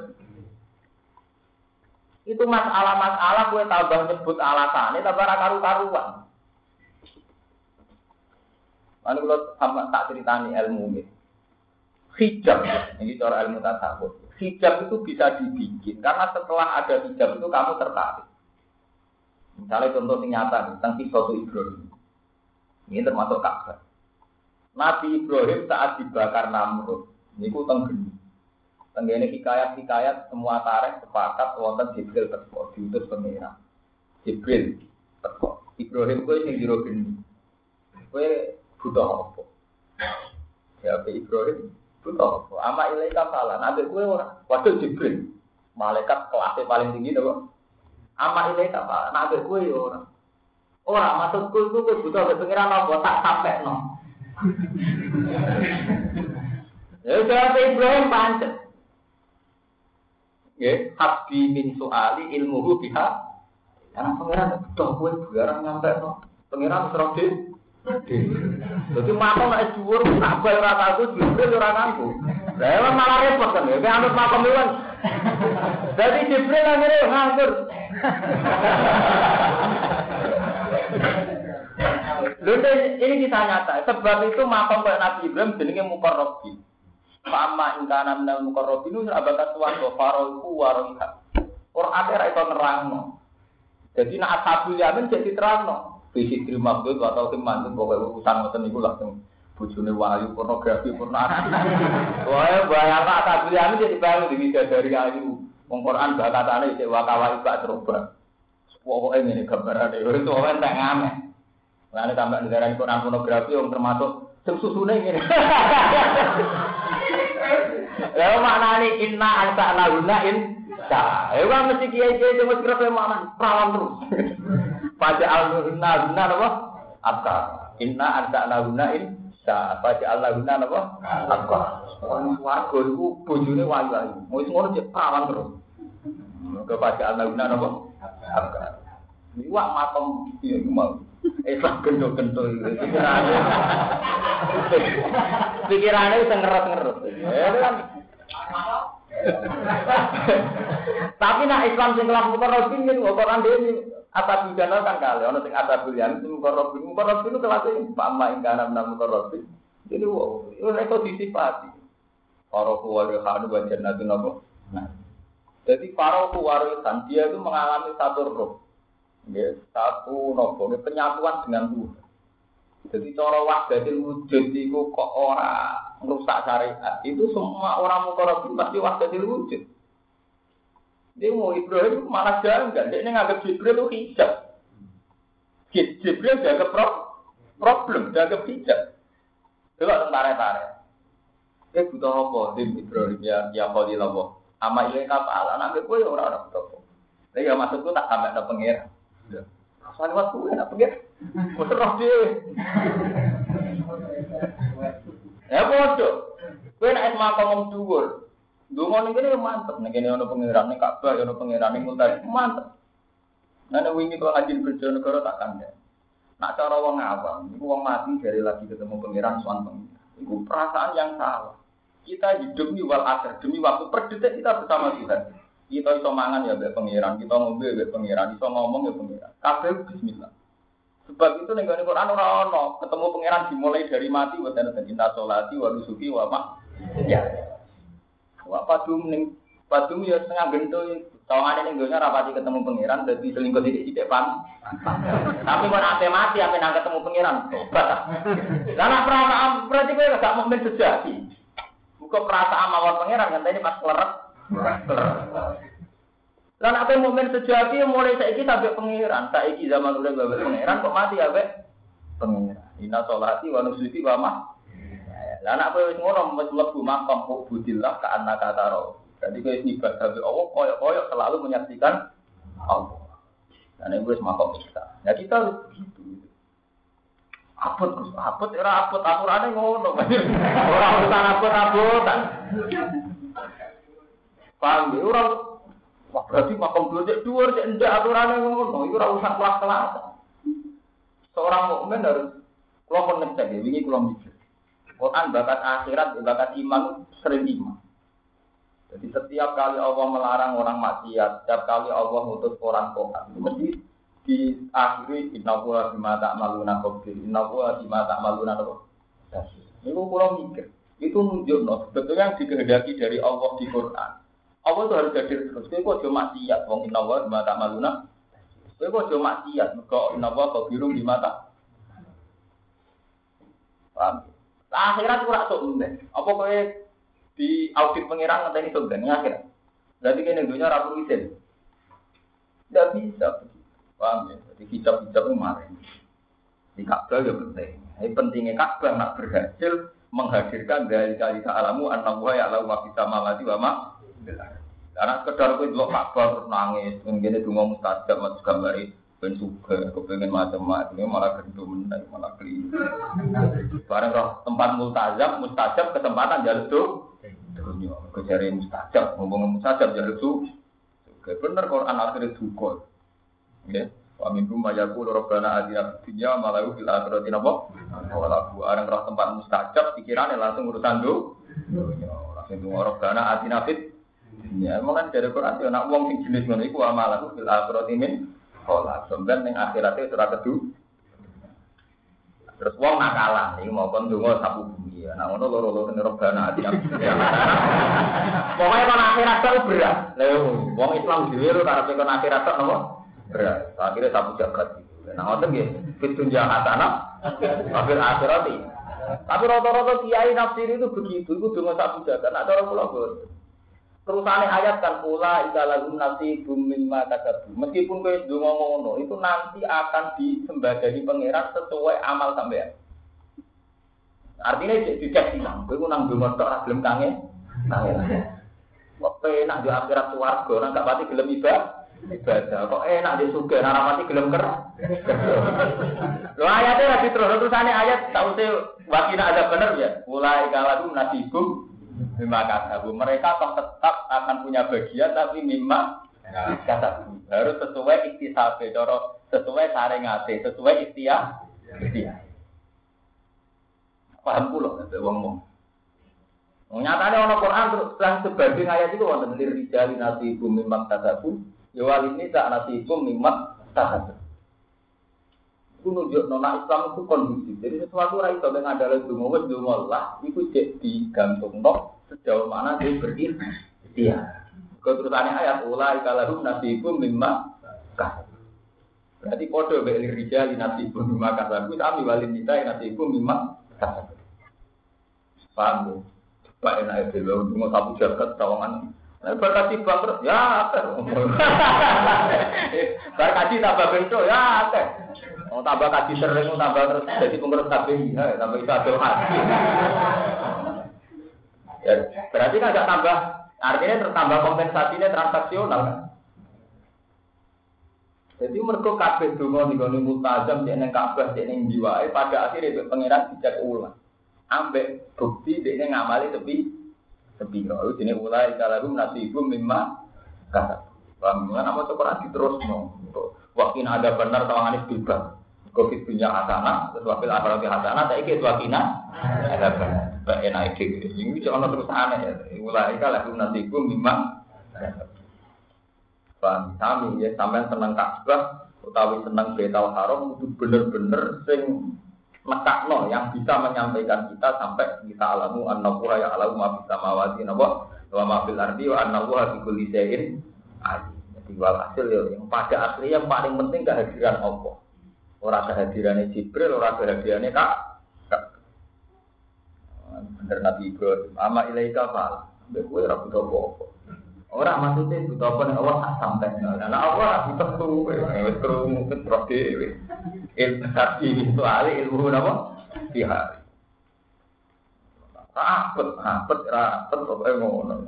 Itu masalah-masalah gue tambah nyebut alasannya tambah karu-karuan. Lalu kalau sama tak ceritani ilmu ini, hijab ini cara ilmu tasawuf. Hijab itu bisa dibikin karena setelah ada hijab itu kamu tertarik. Misalnya contoh yang nyata tentang kisah Ibrahim. Ini termasuk Ka'bah. Nabi Ibrahim saat dibakar Namrud, ini ku tenggeni. Tenggene hikayat-hikayat semua tarikh sepakat wonten Jibril teko diutus pengira. Jibril teko. Ibrahim kowe sing jero geni. Kowe butuh apa? Ya Ibrahim butuh apa? Ama ilaika salah. Nabi kowe ora. Waduh Jibril. Malaikat kelas paling tinggi to. Ama ilaika salah. Nabi kowe ora. Ora maksudku iku kowe butuh pengiran apa tak sampekno. Ya jawab Ibrahim pancet. Ya, habbi min soali ilmuhu biha. Karena pengiran betul kowe barang nyampe no. Pengiran terus di. Jadi makam nek dhuwur tak bal ora aku Jibril ora nangku. Lah malah repot kan ya, anut makam iwan. Jadi Jibril akhirnya nganggur. Lalu ini kita nyata. Sebab itu makam kayak Nabi Ibrahim jenenge Muqarrabin. Sama ingkana minal muqarrabin abata tuan do faroku waroha. Ora ate ra iso nerangno. Jadi nek ashabul yamin jadi terangno. Visi terima maksud atau teman pokoke urusan ngoten niku langsung bojone wahyu pornografi pornografi. Wae bayar ashabul yamin jadi bangun diwidadari ayu. Wong Quran bakatane isih wakawai bak terubah. Pokoke ngene gambarane itu ora entek ngame. Lah nek tambah negara Quran pornografi yang termasuk sing susune ngene. Lalu maknanya inna ansa'na gunain sa. Ya kan mesti kiai-kiai cuma kira-kira makna perawan terus. Pada al-guna guna apa? Apa? Inna ansa'na gunain sa. Pada al-guna apa? Apa? Orang warga itu bojone wayu-wayu. Mau ngono cek perawan terus. Kepada al-guna apa? Apa? Ini wak matom iya mau. Islam gendho-gendho pikirannya. Pikirannya wis ngerot-ngerot. Ya kan. Tapi nak Islam sing kelas mukarrabin niku Quran dhewe apa bidana kan kali ana sing ada bulian itu mukarrabin. Mukarrabin itu kelas pama ing kana mukarrabin. Jadi wow, itu disifati. Para kuwarisan wa jannatin apa? Nah. Jadi para kuwarisan dia itu mengalami satu roh. Ya, satu nopo, penyatuan dengan Tuhan. Jadi cara wahdatul wujud itu kok ora merusak syariat. Itu semua orang mukarrabin pasti wahdatul wujud. Dia mau Ibrahim malah janggal. Dia nganggap Jibril itu hijab. Jibril dianggap problem, dianggap hijab. Coba tentara-tentara. Dia butuh apa? Dia Ibrahim ya, ya Khalilullah. Ama ilai kapal, anak gue ya orang-orang butuh apa. Tapi ya maksudku tak sampai ada pengira. Rasanya waktu gue nak pengira. Gue serah dia. Ya bodoh. Gue nak esma ngomong dhuwur. Dungo ning kene mantep, ning kene ana pangeran ning Ka'bah, ana pangeran ning Multazam, mantep. Nane wingi kok ajin kerja negara tak kandha. Nak cara wong awam, iku wong mati dari lagi ketemu pangeran sowan pengiran. Iku perasaan yang salah. Kita hidup di wal akhir demi waktu per detik kita bersama Tuhan. Kita iso mangan ya mbek pangeran, kita ngombe mbek pangeran, iso ngomong ya pangeran. Kabeh bismillah. Sebab itu ning Quran ora ono ketemu pangeran dimulai dari mati wa tanah inna sholati wa nusuki wa ma. Ya. Wa padum ning padum ya setengah gento tawangane ning donya rapati ketemu pangeran dadi selingkuh sithik-sithik pan. Tapi kok ate mati ape nang ketemu pangeran tobat. Lah nek perasaan berarti kowe gak mukmin sejati. Muga perasaan mawon pangeran ngenteni pas kleret. Lah nek mukmin sejati mulai saiki sampai pangeran, saiki zaman udah bae pangeran kok mati ape pangeran. Inna sholati wa nusuki wa ma. Lah anak kowe wis ngono wis mlebu makam kok budillah ka annaka taro. Jadi kowe ibadah sampai Allah koyo-koyo selalu menyaksikan Allah. Dan itu wis makam kita. Ya kita harus begitu. Apot Gus, apot ora apot aturane ngono. Ora urusan apot-apotan. Paham ya ora. Wah berarti makam dua cek dua cek ndak aturane ngono. Iku ora urusan kelas-kelasan. Seorang mukmin harus kula ngecek ya wingi kula mikir. Quran bakat akhirat, bakat iman sering iman. Jadi setiap kali Allah melarang orang maksiat, setiap kali Allah ngutus orang tobat, mesti diakhiri inna huwa bima ta'maluna khabir, inna huwa bima ta'maluna khabir. Itu kurang mikir. Itu nunjukno sebetulnya yang dikehendaki dari Allah di Quran. Allah itu harus hadir terus. Kowe kok cuma maksiat wong inna huwa bima ta'maluna. Kowe kok cuma maksiat mergo inna huwa khabirum bima ta'maluna. Paham? Akhirat ora sok ndek. Apa kowe di audit pengiran ngenteni sok ndek akhirat. Berarti kene dunya ora perlu izin. Enggak bisa. Paham ya? Jadi hijab-hijab itu kemarin. Di Ka'bah ya penting. Ini pentingnya Ka'bah nak berhasil menghadirkan dari kali alamu an-nawa ya Allah wa bisa malati wa ma. Karena sekedar kowe delok Ka'bah terus nangis, ngene donga mustajab mas gambari ben suka, kepengen macam-macam, malah gendut menang, malah keliru. Barang roh tempat multazam, mustajab kesempatan jalur tuh, dunia kejari mustajab, ngomong mustajab jalur tuh. Bener Quran akhirnya dukul, ya. Waminkum mayaku robbana adina dunya malahu fil akhirati napa? Wala barang roh tempat mustajab, pikirannya langsung urusan tuh. Langsung tuh robbana adina fit. Ya, malah dari Quran itu nak wong sing jenis ngono iku amalahu fil akhirati min kolak, sebenarnya yang akhiratnya surat kedua. Terus wong nakalan, ini mau kon dungo sapu bumi. Nah, ngono loro-loro nerobana ati. Pokoknya kon akhirat itu berat. Lho, wong Islam dhewe ora arep kon akhirat tok napa? Berat. Akhirnya sapu jagat. Nah, ngoten nggih, fitun jahatana, akhir akhirat iki. Tapi rata-rata kiai nafsir itu begitu, itu dungo sapu jagat. Nah, cara kula boten. Terusane ayat kan pula ikalahum nasi bumim matakabu. Meskipun kowe ndonga ngono, itu nanti akan disembadani pangeran sesuai amal sampean. Artinya cek dicek silang, kowe nang ndonga tok ora gelem kangen. Kangen. Kok enak di akhirat swarga, nang gak pati gelem ibadah. Ibadah. Kok enak di surga, nang ora pati gelem ker. Lho ayate ora diterus, terusane ayat saute wakina ada bener ya. Pula ikalahum nasi bum mimma kasabu, mereka toh tetap akan punya bagian tapi mimma kasabu harus sesuai iktisabe cara sesuai saringate, sesuai ikhtiar. Ikhtiar. Paham kula nek wong ngomong. Nyatane ana Quran terus lan sebagian ayat itu wonten lirijali nasibum mimmat tasabu, ya walini sak nasibum mimmat tasabu. Ku nunjukno nek Islam itu kondusif. Jadi sesuatu ora iso nek andale donga wis donga lah, iku cek digantungno sejauh mana dia berikhtiar. Keterusannya ayat ulai kalahum nasibum mimmat tasabu. Berarti padha mek lirijali nasibum mimmat tasabu, sami walini sak nasibum mimmat tasabu. Paham? Pak enak itu, mau sapu jagat tawangan. Berkati bangkrut, ya ter. Berkati tambah bentuk, ya ter. Mau tambah kaji sering, mau tambah terus jadi pengurus K B I, ya, tambah itu ada hati. Ya, berarti kan agak tambah, artinya tertambah kompensasinya transaksional kan. Jadi mereka kabeh donga nggone multazam cek ning Ka'bah cek ning jiwae pada akhirnya pengiran dijak ulang. Ambek bukti dekne ngamali tepi tepi kok dene ulai kalahum nasibum mimma kata. Paham kan apa to ora diterusno. Wakin ada benar tawangane bebas. Covid punya hasanah, terus wafil akhirat hasanah, saiki wakina ada benar. Bae enak iki. Iki ono terusane ya. Ulai kalahum nasibum mimma kata. Paham sami ya sampean seneng Ka'bah utawi seneng Baitul Haram itu bener-bener sing nekakno yang bisa menyampaikan kita sampai kita alamu annahu ya alamu ma fis samawati wa ma fil ardi wa annahu bi kulli syai'in alim. Jadi walhasil ya yang pada asli yang paling penting kehadiran Allah. Ora kehadirannya Jibril, ora kehadirannya Kak. Bener Nabi Ibrahim, ama ilaika fal. Mbek kowe ora butuh apa-apa. Ora maksudnya butuh apa nek Allah tak sampai. Nah Allah ora butuh kowe, wis krungu terus dhewe. Ilmu tadi itu ahli ilmu apa? Pihak. Rapet, rapet, rapet, apa yang ngono.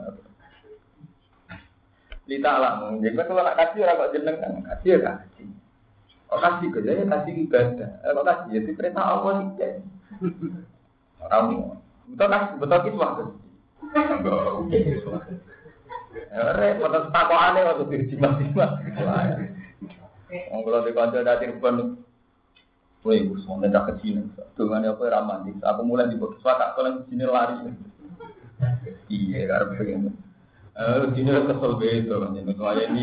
Lita alam, jadi kalau nak kasih orang kok jeneng kan kasih ya kasih. Oh kasih kerja ya kasih ibadah. Kalau kasih jadi perintah Allah sih. Orang betul kan, betul kita waktu. Repot takut aneh waktu dirjimat-jimat. Kalau di kantor dari pun. Woi, semuanya dah kecil. Dengan apa romantis. Aku mulai di box wakak kalau di sini lari. Iya, karena begini. Eh, di sini kesel betul kan jadi saya ini.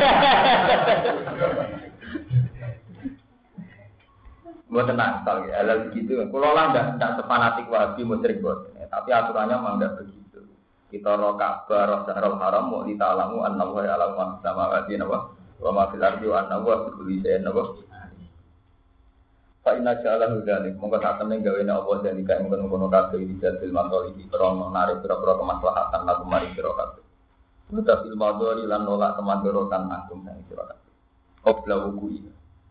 Buat tenang sekali. Hal begitu. Kalau lah tidak tidak sepanatik wahabi musyrik buat. Tapi aturannya memang tidak begitu. Kita roh Ka'bah, roh Syahrul Haram, mau ditalamu an-nawa ya alamu sama wadi nawa. Wa ma fil ardi wa an-nawa bi kulli syai'in nawa. Fa inna ja'alahu dzalik monggo sak temene gawene apa dadi kae mungkon-mungkon kabeh iki jadil masalah iki krono narik pira-pira kemaslahatan lan mari sira kabeh. Mutafil madori lan nolak kemandorotan agung sang sira kabeh. Qobla wuku.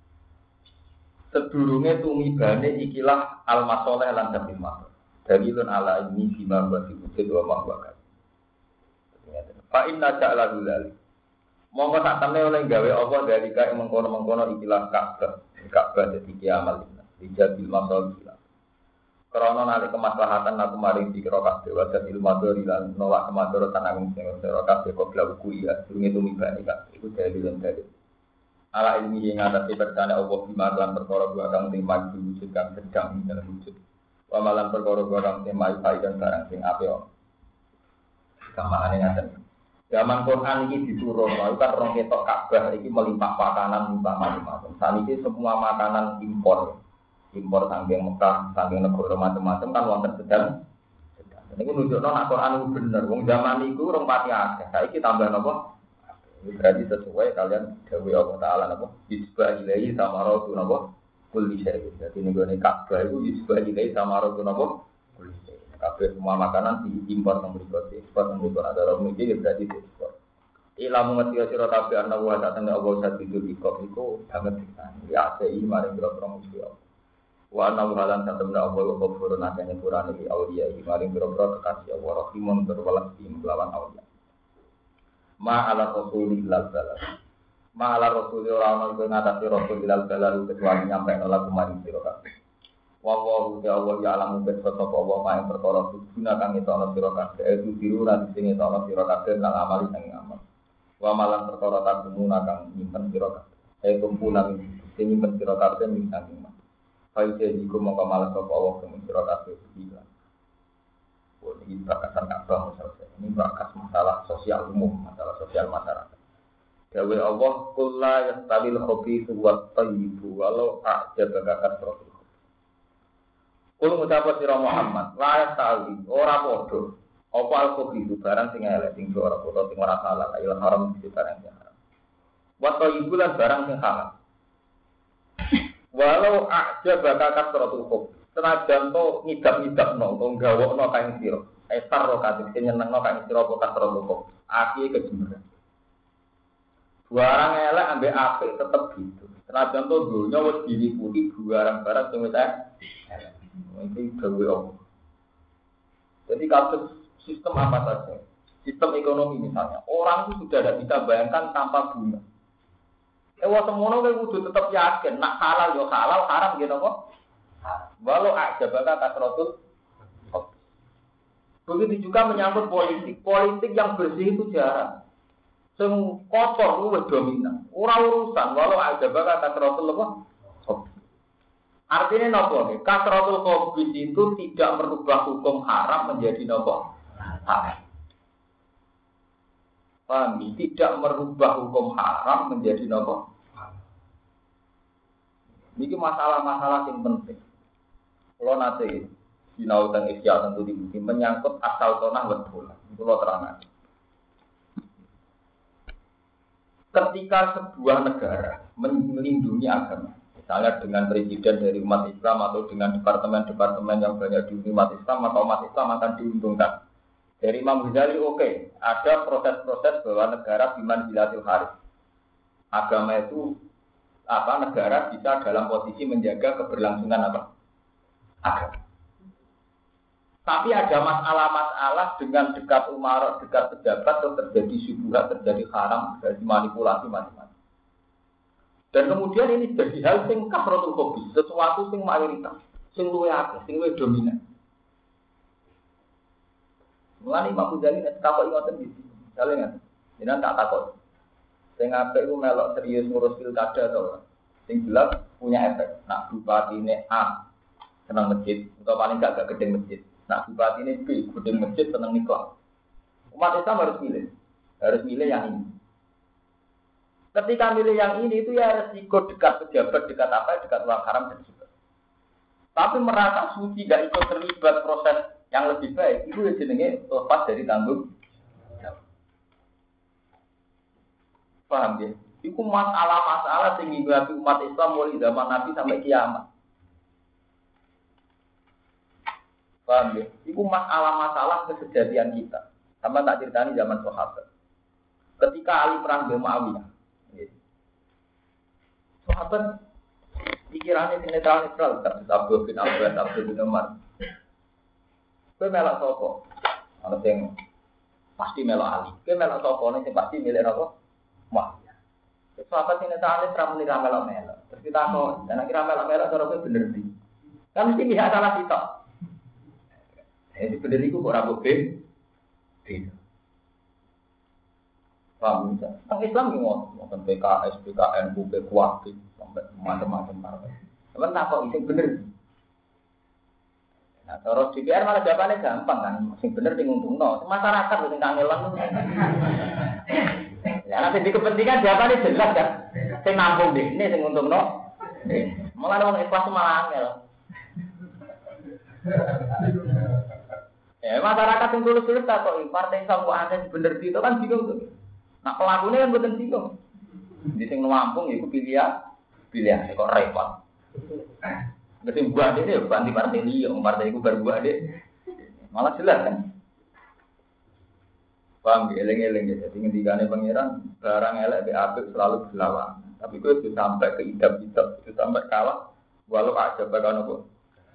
Sedurunge tumibane ikilah al-masalih lan dhamil masal. Dalilun ala ini bima wa wujud wa mahwa. Fa inna ja'alahu dzalik monggo sak temene oleh gawe apa dari kae mengkono-mengkono ikilah Ka'bah. Ka'bah jadi kiamal ini dijabil masal gila karena nalik kemaslahatan aku maring dikira kabeh wadah ilmu madhari lan nolak kemadharatan agung sing ora kabeh kok blawuku ya durunge tumibane kabeh iku dalil dalil ala ilmi yang ngatasi percaya Allah bima lan perkara gua kang sing maju wujud kang sedang dalam wujud wa malan perkara gua kang sing maju dan barang sing apik kamane ngaten. Zaman Quran ini diturun, lalu kan orang ketok Ka'bah ini melimpah makanan limpah macam-macam. Saat ini semua makanan impor, impor saking Mekah, saking negara macam-macam kan wonten sedang. Ini menunjukkan nak Quran itu benar. Wong zaman itu orang pati akeh. Saiki tambah napa? Berarti sesuai kalian dawuh Allah Taala napa? Isbah ilahi samaratu napa? Kulli syai'. Jadi nego Ka'bah itu isbah ilahi samaratu napa? Kulli syai'. Kabeh semua makanan diimpor nang mriku, ekspor nang mriku ada orang iki berarti ekspor. Ilmu ngerti sira kabeh ana wa satene Allah sadidul ikop iku banget tenan. Ya sei mari boro-boro musuh. Wa ana halan satene Allah kok furun akene purane iki aulia iki mari boro-boro kekasih Allah rahimun berwelas di melawan aulia. Ma ala rasulillah sallallahu. Ma ala rasulillah ora ono ngatasi rasulillah sallallahu kecuali nyampe nolak kemarin sira kabeh. Wallahu ta'ala ya alamu bet sapa wa ma ing perkara guna kang itu ana sira kabeh itu diru lan sing itu ana sira kabeh lan amali sing amal wa malan perkara takumuna kang nyimpen sira kabeh Saya kumpulan sing nyimpen sira kabeh ing saking man. Faide iku mongko malah sapa Allah kang sira kabeh bilang. Oh, ini bakasan Ka'bah masalah. Ini bakas masalah sosial umum, masalah sosial masyarakat. Dawe Allah kulla yastawil khabithu wat thayyibu walau a'jaba kasratul. Kulo ngucap sira Muhammad, la yastawi ora padha. Apa al-khabithu barang sing elek sing ora padha sing ora halal, ayo haram sing barang sing haram. Wat thayyibu lan barang sing halal. Walau a'jaba kasratul khub. Senajan to ngidap-ngidapno, to gawokno kae sira. Esar ro katik sing nyenengno kae sira apa kasratul khub. Aki kejemberan. Barang elek ambek apik tetep gitu. Senajan to donya wis diliputi barang-barang sing wis elek. Iki gawe apa? Jadi kasus sistem apa saja, sistem ekonomi misalnya, orang itu sudah tidak bisa bayangkan tanpa bunga. Ewa semono kowe kudu tetap yakin, nak halal yo halal, haram gitu kok. Walau aja bakal kasrotul. Begitu juga menyangkut politik, politik yang bersih itu jarang. Sing kotor lu wis dominan. Ora urusan walau aja bakal kasrotul apa? Artinya nopo nih, kasratul khabith itu tidak merubah hukum haram menjadi nopo halal. Paham? Tidak merubah hukum haram menjadi nopo halal. Ini masalah-masalah yang penting. Kalau nanti sinau dan isya tentu dibuat menyangkut asal tanah betul. Itu lo terangkan. Ketika sebuah negara melindungi agama, misalnya dengan presiden dari umat Islam atau dengan departemen-departemen yang banyak di umat Islam atau umat Islam akan diuntungkan. Dari Imam Ghazali oke, okay, ada proses-proses bahwa negara biman bilatil haris. Agama itu apa negara bisa dalam posisi menjaga keberlangsungan apa? Agama. Tapi ada masalah-masalah dengan dekat umarok, dekat pejabat terus terjadi syubhat, terjadi haram, terjadi manipulasi macam-macam. Dan kemudian ini jadi hal sing kasratul khabith, sesuatu sing mayoritas, sing luwih akeh, sing luwih dominan. Mulane Imam Ghazali nek takok ngoten iki, jale ngaten. Jenengan tak takok. Sing apik ku melok serius ngurus pilkada to. Sing jelas punya efek. Nak bupatine A seneng masjid, atau paling gak gak gedeng masjid. Nak bupatine B gedeng masjid seneng nikah. Umat Islam harus milih. Harus milih yang ini. Ketika milih yang ini itu ya resiko dekat pejabat, dekat apa, dekat uang haram dan juga. Tapi merasa suci tidak ikut terlibat proses yang lebih baik, itu ya jenenge lepas dari tanggung jawab. Paham ya? Itu masalah-masalah yang dihadapi umat Islam mulai zaman Nabi sampai kiamat. Paham ya? Itu masalah-masalah kesejatian kita. Sama tak ceritani zaman sahabat. Ketika Ali perang dengan Muawiyah, sahabat pikirannya netral-netral, terus Abdul bin Abbas, Abdul bin Umar. Kowe melok sapa? Ana sing pasti melok Ali. Kowe melok sapa nek pasti milih apa? Muawiyah. Sahabat sing netral-netral muni ra melok-melok. Terus kita kok, dan akhirnya melok-melok cara kowe bener iki. Kan mesti pihak salah sitok. Eh bener iku kok ora boleh. Tidak. Paham bisa? Tentang Islam gimana? Tentang P K S, P K N, U P, Kuwati, sampai macam-macam partai. Cuman tak kok isi bener. Nah, terus D P R malah jawabannya gampang kan, sing bener sing untungno. Masyarakat sing kangelan. Ya nanti di kepentingan jawabannya jelas kan. Sing nampung deh, ini sing untungno. Malah orang ikhlas malah angel. Ya masyarakat yang tulus-tulus tak kok partai Islam kok ada bener itu kan bingung tuh. Nah pelakunya kan bukan bingung. Di sing Lampung itu pilihan, pilihan kok repot. Mesti buat dia banti partai dia, partai itu berbuat dia. Malah jelas kan. Paham ya, eleng-eleng ya. Jadi ngendikane pangeran barang elek be apik selalu berlawan. Tapi kok itu sampai ke idap-idap, itu sampai kalah walau aja bakal nopo.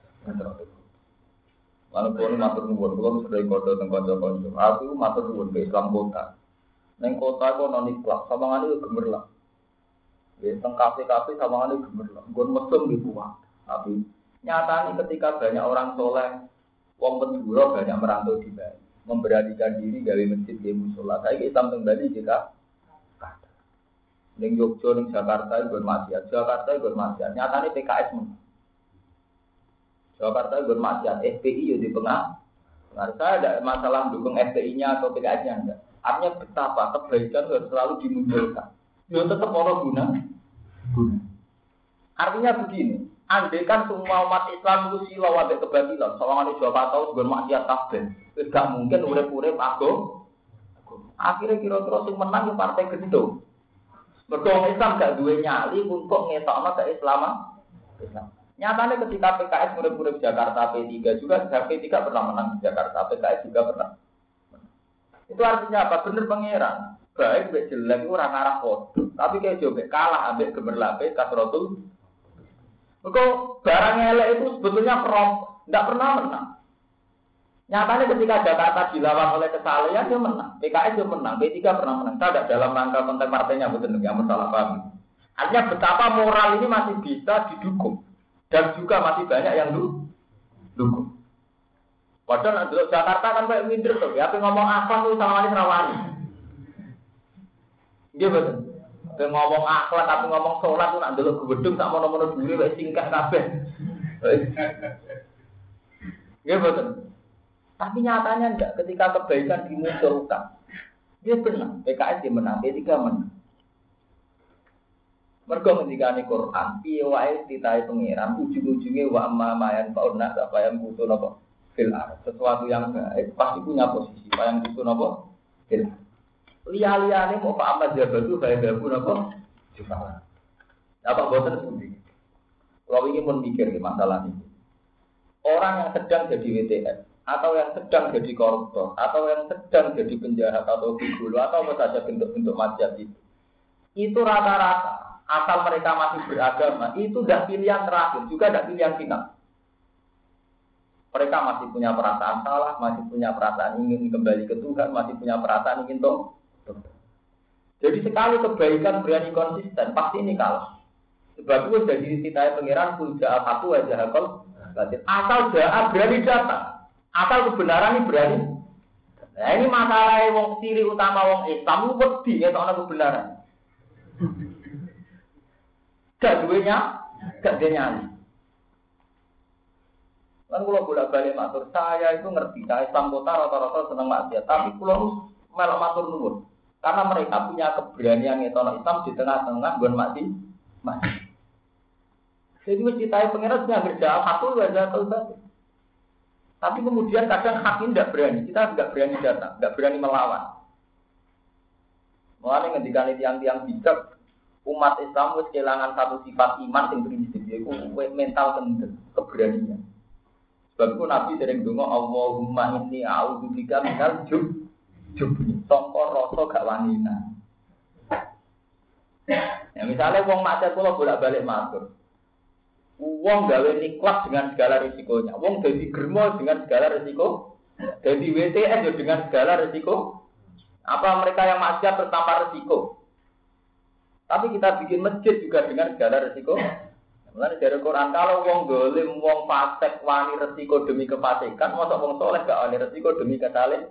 Walaupun matur nuwun, kula sudah kodo teng kanca-kanca. Aku matur nuwun ke Islam kota. Neng kota kok non ikhlas, samangane yo gemerlap. Ya teng kafe-kafe samangane gemerlap. Nggon mesum di kuat. Tapi nyatane ketika banyak orang soleh, wong penduduk banyak merantau di Bali, memberanikan diri gawe masjid di musola. Saiki Islam teng Bali juga ning Yogyakarta ning Jakarta iku maksiat, Jakarta iku maksiat. Nyatane P K S men. Jakarta iku maksiat, F P I yo di tengah. Nah, saya ada masalah dukung F P I-nya atau P K S-nya enggak. Artinya betapa kebaikan harus selalu dimunculkan. Yo tetap ono guna. Guna. Artinya begini, andai kan semua umat Islam itu silau ambek kebatilan, sawangan Jawa tahu gur maksiat kabeh. Wis gak mungkin urip-urip agung. Akhirnya kira-kira sing menang yo partai gendong. Mergo Islam gak duwe nyali untuk ngetokno keislaman. Islam. Nyatanya ketika P K S urip-urip Jakarta P tiga juga, P tiga pernah menang di Jakarta, P K S juga pernah. Itu artinya apa? Bener pangeran. Baik mbek jelek ora ngarah podo, tapi kayak jobek kalah ambek gemerlape kasrotul. Mergo barang elek itu sebetulnya prom, enggak pernah menang. Nyatanya ketika Jakarta dilawan oleh kesalehan dia menang, P K S dia menang, P tiga pernah menang. Tidak dalam rangka konteks partainya betul yang masalah paham. Artinya betapa moral ini masih bisa didukung dan juga masih banyak yang dukung. Padahal dulu Jakarta kan kayak minder tuh, ya ngomong akhlak tuh sama ini rawani. Dia betul. Tapi ngomong akhlak tapi ngomong sholat tuh nak dulu gedung tak mono-mono dulu kayak singkat kabeh. Dia betul. Tapi nyatanya enggak, ketika kebaikan dimunculkan, dia benar, P K S dia menang, P tiga menang. Mergo ketika ini Quran, piye wae ditai pengiran, ujung-ujungnya wa amma mayan fauna apa yang butuh nopo fil ar. Sesuatu yang baik pasti punya posisi, apa yang butuh nopo fil. Liya-liyane mau fa amma jabatu bae bae nopo juga. Apa boten seperti. Kalau ingin memikir masalah ini. Orang yang sedang jadi W T S atau yang sedang jadi koruptor, atau yang sedang jadi penjahat atau gigolo, atau apa saja bentuk-bentuk maksiat itu, itu rata-rata, asal mereka masih beragama, itu tidak pilihan terakhir, juga tidak pilihan final. Mereka masih punya perasaan salah, masih punya perasaan ingin kembali ke Tuhan, masih punya perasaan ingin toh. Jadi sekali kebaikan berani konsisten, pasti ini kalah. Sebab itu jadi ditanya pengiran, kulja satu wajah hakol, asal jahat berani datang. Asal kebenaran ini berani. Nah ini masalah wong ciri utama wong Islam itu wedi ngetokno kebenaran. Gak duwenya, gak nyali. Kan kula bolak-balik matur, saya itu ngerti, saya Islam kota rata-rata seneng maksiat, tapi kula melok matur nuwun. Karena mereka punya keberanian ngetokno Islam di tengah-tengah nggon maksiat. Maksiat. Jadi mesti tahu pengiran sudah kerja satu wajah atau tapi kemudian kadang hakim tidak berani, kita tidak berani datang, tidak berani melawan. Mulanya ketika tiang-tiang bijak, umat Islam harus kehilangan satu sifat iman yang prinsip, yaitu mental kendel, keberanian. Sebab itu Nabi sering dengar Allahumma inni a'udzubika minal jub, jubni, sangka rasa gak wanina. Ya misalnya wong maksiat kula bolak-balik matur. Wong gawe niklas dengan segala risikonya. Wong jadi germo dengan segala risiko. Jadi W T S dengan segala risiko. Apa mereka yang maksiat bertambah risiko? Tapi kita bikin masjid juga dengan segala risiko. Mulane dari Quran kalau wong dolim, wong fasik wani risiko demi kefasikan, mosok wong soleh gak wani risiko demi kesalahan.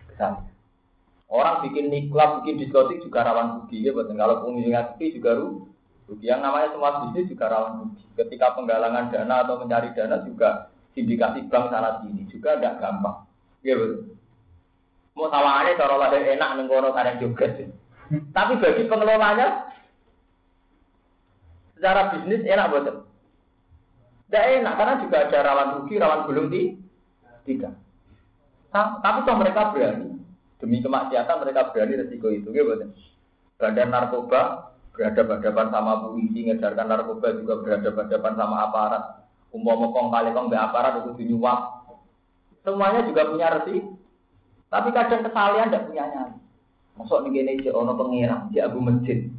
Orang bikin niklas, bikin diskotik juga rawan rugi ya, betul. Kalau pengunjung rugi juga rugi. Yang namanya semua bisnis juga rawan rugi. Ketika penggalangan dana atau mencari dana juga sindikasi bank sana sini juga tidak gampang. Ya betul. Mau tawangannya cara ada enak nengkono karena juga. Tapi bagi pengelolanya secara bisnis enak betul. Tidak enak karena juga ada rawan rugi, rawan gulung di tiga. Tapi toh mereka berani demi kemaksiatan mereka berani resiko itu. Ya betul. Badan narkoba berhadapan-hadapan sama polisi, ngejarkan narkoba juga berhadapan-hadapan sama aparat. Umpama kong kali kong be aparat itu dinyuap. Semuanya juga punya resiko. Tapi kadang kesalahan tidak punya nyali. Masuk nih gini aja, ono pengirang, di abu masjid.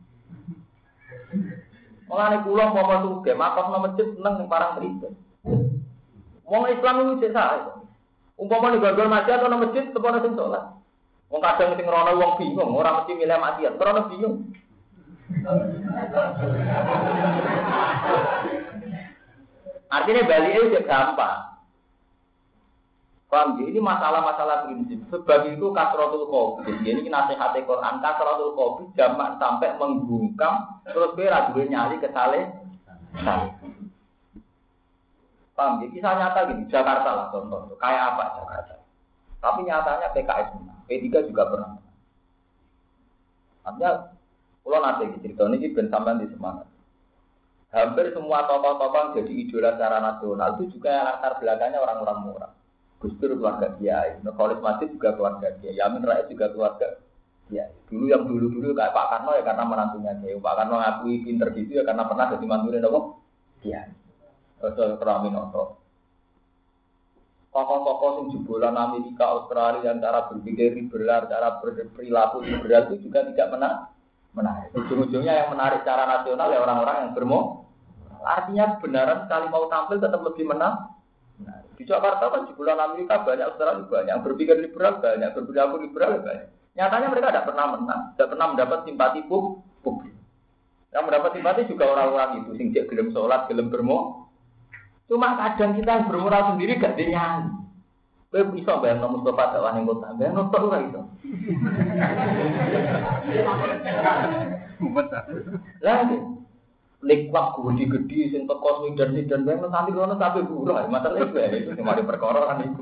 Mulane kula mau masuk ke makam no masjid seneng ning parang pribadi. Wong Islam itu cek sae. Umpama ning gondol masjid atau no masjid tepono sing salat. Wong kadang sing rono wong bingung, ora mesti milih maksiat, rono bingung. Artinya balik itu gampang. Paham ya? Ini masalah-masalah prinsip. Sebab itu kasratul qobi. Jadi ini nasihat Quran. Kasratul qobi jamak sampai menggungkam. Terus kira duwe nyali ke saleh. Paham ya? Kisah nyata gini. Jakarta lah contoh. Kayak apa Jakarta? Tapi nyatanya P K S menang. P tiga juga pernah menang. Artinya, kalau nanti cerita ini ben sampean di semangat. Hampir semua tokoh-tokoh jadi idola secara nasional itu juga latar belakangnya orang-orang murah. Gus Dur keluarga Kiai, Nurholis Masjid juga keluarga Kiai, Yamin Rais juga keluarga Kiai. Dulu yang dulu-dulu kayak Pak Karno ya karena menantunya Kiai. Pak Karno ngakui pinter gitu ya karena pernah jadi mantunya apa? Kiai. Terus Raminoto. Tokoh-tokoh yang jebolan Amerika, Australia yang cara berpikir liberal, cara berperilaku liberal itu juga tidak menarik. Menarik. Ujung-ujungnya yang menarik secara nasional ya orang-orang yang bermo. Artinya kebenaran sekali mau tampil tetap lebih menang. Nah, di Jakarta kan di bulan Amerika banyak, Australia banyak, yang berpikir liberal banyak, berperilaku liberal banyak. Nyatanya mereka tidak pernah menang, tidak pernah mendapat simpati publik. Yang mendapat simpati juga orang-orang itu, sing cek gelem sholat, gelem bermo. Cuma kadang kita yang bermoral sendiri gak dinyanyi. Kowe bisa bayang nomor Mustafa dakwah ning kota, bayang notok ora iso. Lah Likwak gede-gede sing teko Sweden-Sweden bae nanti kono sampe buruh. Masalah itu ya itu cuma di perkara kan itu.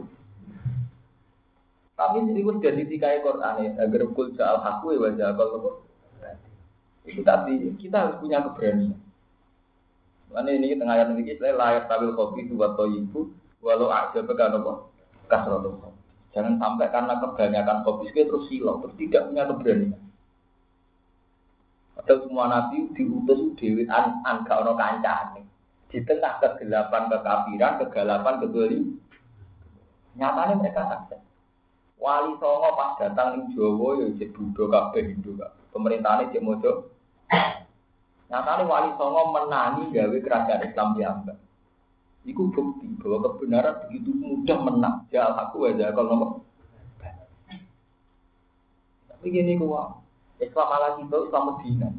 Tapi itu sudah ditikai Quran ya, agar kul ja'al haqqu wa ja'al itu tapi kita harus punya keberanian. Karena ini tengah ayat ini saya layar tabil kopi dua toyibu walau aja bekan apa kasrotul. Jangan sampai karena kebanyakan kopi terus silau, terus tidak punya keberanian. Atau semua nabi diutus dewi an angka ono kancane di tengah kegelapan kekafiran, kegelapan kedoli. Nyatanya mereka sukses. Wali Songo pas datang di Jawa ya jadi Buddha kabeh Hindu kabeh. Pemerintahane cek mojo. Nyatanya Wali Songo menangi gawe kerajaan Islam piyambak. Iku bukti bahwa kebenaran begitu mudah menang. Jal aku aja kalau nomor. Tapi gini kuah. Islam ala kita, Islam Medina.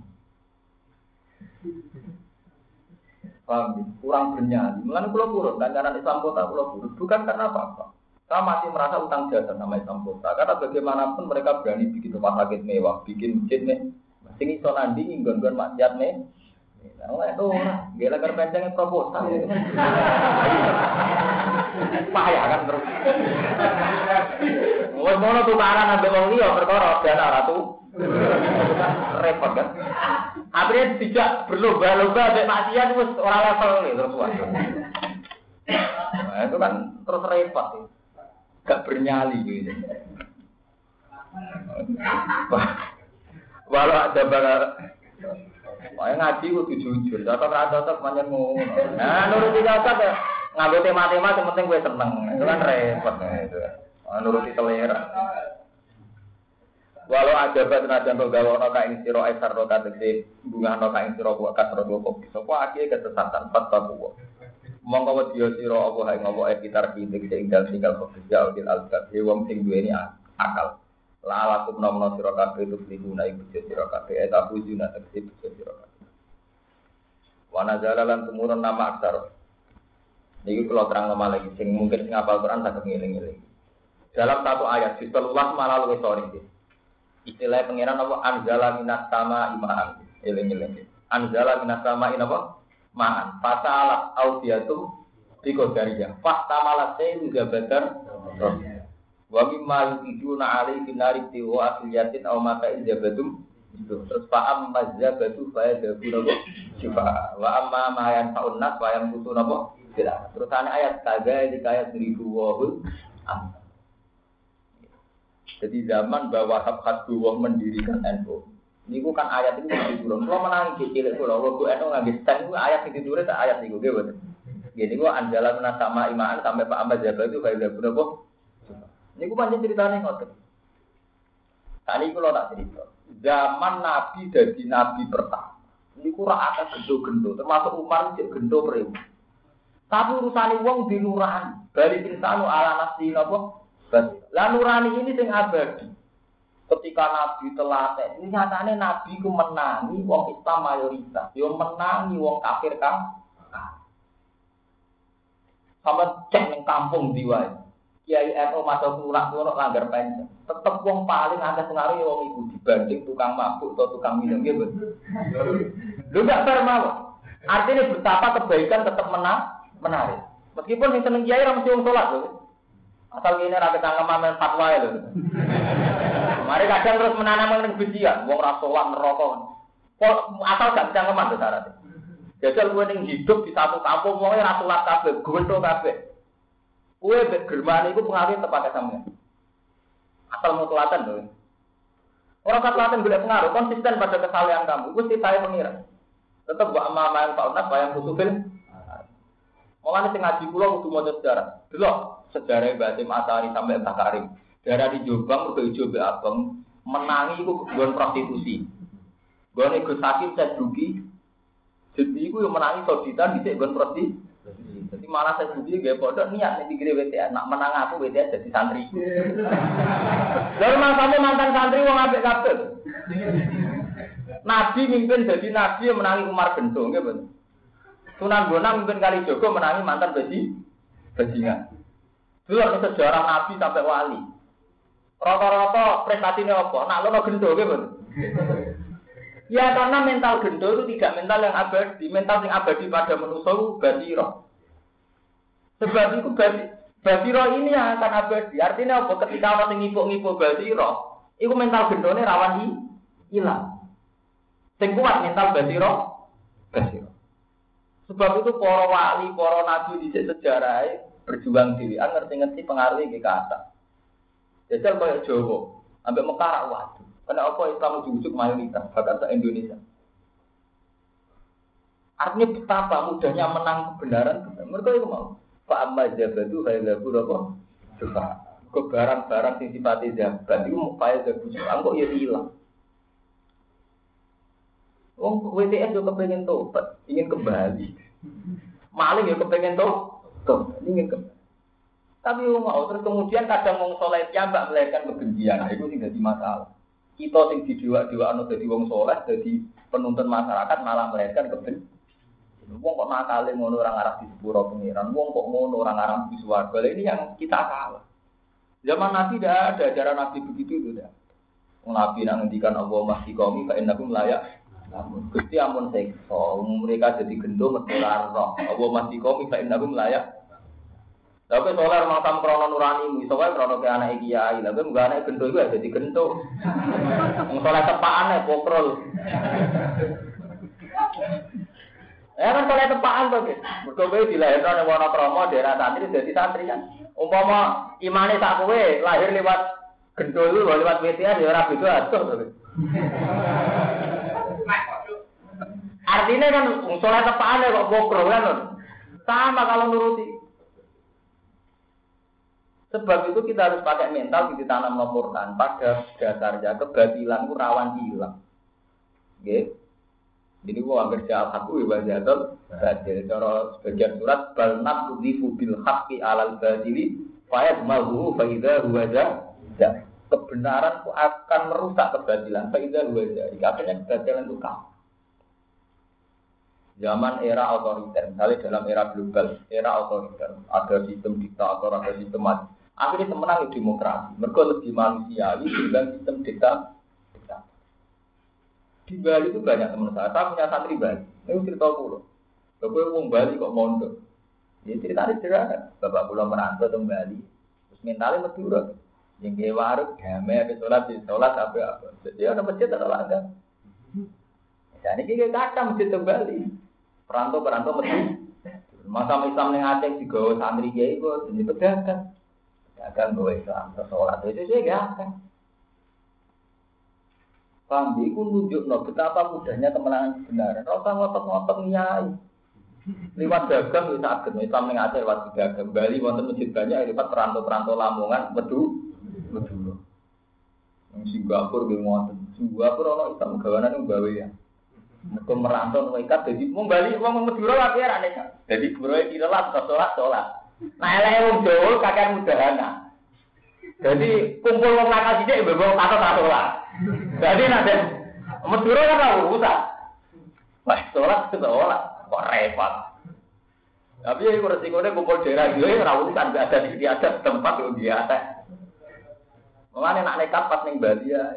Paham? Kurang bernyali. Mengenai pulau buruk, kancaran Islam kota pulau buruk. Bukan karena apa-apa. Saya masih merasa utang jasa sama Islam kota. Karena bagaimanapun mereka berani bikin rumah sakit mewah, bikin masjid nih. Sini so nanding, gon-gon maksiat nih. Nah, itu orang. Gila kerpencengnya proposal. Payah kan terus. Mau-mau tukaran ambil wong liya perkara dana ratu. Repot kan? Akhirnya tidak berlomba-lomba sampai maksiat terus orang level nih terus wah. Nah, itu kan terus repot sih. Gak bernyali gitu. Walau ada bakal Wah ngaji kudu jujur, cocok ra cocok pancen ngono. Nah, nuruti cocok ya nganggo tema-tema sing penting kowe seneng. Itu kan repot itu. Nuruti selera. Walau ada batnajan to gawono ka ing sira esar ro kategori bunga no ka ing sira kok kasro kok sapa akeh kesesatan fatwa. Monggo wedya sira apa hae ngopo e kitar pitik sing dal tinggal kok jauh dil alqab wong sing duweni akal. La lakum nomno sira kabeh itu liguna iku sira kabeh eta bujuna tegese sira kabeh. Wa nazala lan tumurun nama aksar. Niki kula terang lagi sing mungkin sing hafal Quran saged ngeling-eling. Dalam satu ayat di selulas malah luwih sore iki. Istilah pengiran apa anzala minas sama imaan eling-eling. Anzala minas sama apa? Ma'an. Fata'ala audiyatu biqadariyah. Fata'ala sayyid zabadar. Wa mimma yujuna alaihi binari tiwa asliyatin aw mata ijabatum. Terus fa'am mazabatu fa yadabuna syifa. Wa amma ma yanfa'un nas wa yamutuna apa? Tidak. Terus ayat kaga dikaya seribu wahul. Jadi zaman bahwa hak-hak dua mendirikan N U. Ini kan ayat itu diturun. Kalau menangi kecil itu, kalau gue N U ngambil stand itu ayat itu diturun, ayat itu gue betul. Jadi gue anjalan menasama imaan sampai Pak Ahmad Jabal itu kayak udah bener kok. Ini gue panjang ceritanya ngotot. Tadi gue tak cerita. Zaman Nabi jadi Nabi pertama. Ini gue rata gendo-gendo, termasuk Umar cek gendo periu. Tapi urusan uang di nurani. Balik insanu ala nafsi apa? Lah nurani ini sing abadi. Ketika Nabi telaten, ini nyatane Nabi ku menangi wong Islam mayoritas, yo menangi wong kafir kan. Sama cek ning kampung diwae. Kiai N U masuk lunak lunak langgar pensiun. Tetep wong paling akeh pengaruh wong iku dibanding tukang mabuk atau tukang minum gitu. Lu gak fair mau. Artinya betapa kebaikan tetap menang, menarik. Meskipun yang seneng kiai ra mesti wong salat lho. Asal kene ra ketangkeman men fatwa lho. Mari kadang terus menanam kebencian, wong ra salat neraka. Kok asal gak ketangkeman to syaratnya. Jajal kowe ning hidup di satu kampung wong ora salat kabeh, gendho kabeh. Kowe mek germane iku pengaruh tepake sampeyan. Asal mutlatan lho. Orang mutlatan golek pengaruh konsisten pada kesalehan kamu. Iku sitahe pengira. Tetep wa amaman fauna bayang kutubin. Mulane sing ngaji kula kudu maca sejarah. Delok sejarah Mbah Hasyim Asari sampai Mbah Karim. Daerah di Jombang uga ijo mbek abang menangi iku nggon prostitusi. Gone Gus Hakim Sadruki. Jadi iku yo menangi soditan dhisik nggon prostitusi. Jadi malah saya sendiri gak bodoh niat nih pikir W T A, nak menang aku W T A jadi santri. Lalu kamu mantan santri wong ambek kabeh. Nabi mimpin jadi nabi yang menangi Umar Gento, nggih bener. Sunan Bonang mimpin Kalijogo menangi mantan besi bajingan. Dulu sejarah nabi sampai wali. Rata-rata prestasinya apa? Nak lono Gento, nggih bener. Ya karena mental Gento itu tidak mental yang abadi, mental yang abadi pada manusia basiro. Sebab itu basiro ini yang akan abadi. Artinya apa? Ketika orang ngipuk-ngipuk basiro, itu mental gendone rawan hilang. Sing kuat mental basiro, basiro. Sebab itu para wali, para nabi di sejarah berjuang diri, ngerti-ngerti pengaruhnya ke atas. Jajal kaya Jawa, ambek Mekah waduh. Karena apa Islam ujuk-ujuk mayoritas, bahkan se Indonesia. Artinya betapa mudahnya menang kebenaran. Mereka itu mau. Pak Amma Jabatu Hailabu apa? Suka. Ke barang-barang sing sifate jabat iku mau kaya jabu suka kok ya hilang. Wong W T S yo kepengin tobat, ingin kembali. Maling yo kepengin tobat, ingin kembali. Tapi wong mau terus kemudian kadang wong saleh piyambak melahirkan kebencian, itu sing dadi masalah. Kita sing didewa-dewakno dadi wong saleh, dadi penuntun masyarakat malah melahirkan kebencian. Wong kok nakale ngono ora ngarep di sepuro pengiran, wong kok ngono ora ngarep di swarga. Ini yang kita salah. Zaman Nabi tidak ada ajaran Nabi begitu itu dah. Wong Nabi nang ngendikan Allah masih qaumi fa innakum layak. Namun Gusti ampun siksa, mereka jadi gendho metular roh. Allah masih qaumi fa innakum layak. Tapi solar makam krono nurani, soalnya krono ke anak kiai, tapi enggak anak gendho itu jadi gendho. Wong soleh tepakane pokrol. Ya kan soleh tepaan to, Guys. Mergo kowe dilahirno ning Wonokromo daerah santri dadi santri kan. Umpama imane sak kowe lahir lewat gendul lho lewat W T A ya ora beda atuh to. Artinya kan soleh tepaan kok bokro kan. Sama kalau nuruti. Sebab itu kita harus pakai mental di tanam Al-Qur'an. Pada dasarnya kebatilan itu rawan hilang. Nggih. Jadi gua kerja al-haqu wa bajatul badil. Cara sebagian surat bal naqdhifu bil haqqi 'alal badili fa yadmahu fa idza huwa jahil. Kebenaran itu akan merusak kebatilan. Fa idza huwa jahil. Akhirnya kebatilan itu kalah. Zaman era otoriter, misalnya dalam era global, era otoriter, ada sistem diktator, ada sistem mati. Akhirnya semenang demokrasi. Mereka lebih manusiawi dengan sistem diktator. Di Bali itu banyak teman saya. Saya punya santri Bali. Ini cerita pulau. Bapak orang Bali kok mondok. Ini ceritanya sederhana. Bapak pulau merantau ke Bali. Terus mentalnya medurut. Yang ke warung, damai, habis sholat, di sholat, apa-apa. Jadi ada masjid atau langgar. Jadi ini kata masjid ke Bali. Perantau-perantau medurut. Masa Islam yang Aceh juga santri kiai itu jadi pedagang. Pedagang bawa Islam ke sholat. Itu sih gak akan. Paham, itu nunjukno betapa mudahnya kemenangan kebenaran. Rasa ngotot-ngotot nyai. Lewat dagang bisa agak. Islam yang Aceh lewat dagang. Bali wonten masjid banyak lewat perantau-perantau Lamongan, Medu, Medu. Yang Singapura nggih wonten. Singapura ana Islam gawanan yang gawe ya. Mereka merantau mereka jadi wong Bali wong Madura wae ra nek. Jadi broe kirelat salat salat. Nah eleke wong Jawa kakek mudahana. Jadi kumpul wong nakal sithik mbok kata salat. Jadi nanti Madura kan tahu usah. Wah, sholat itu sholat, kok repot. Tapi ya itu resikonya kumpul daerah gue rawusan gak ada di ada tempat yang biasa. Makanya nak nekat pas ning Bali ya.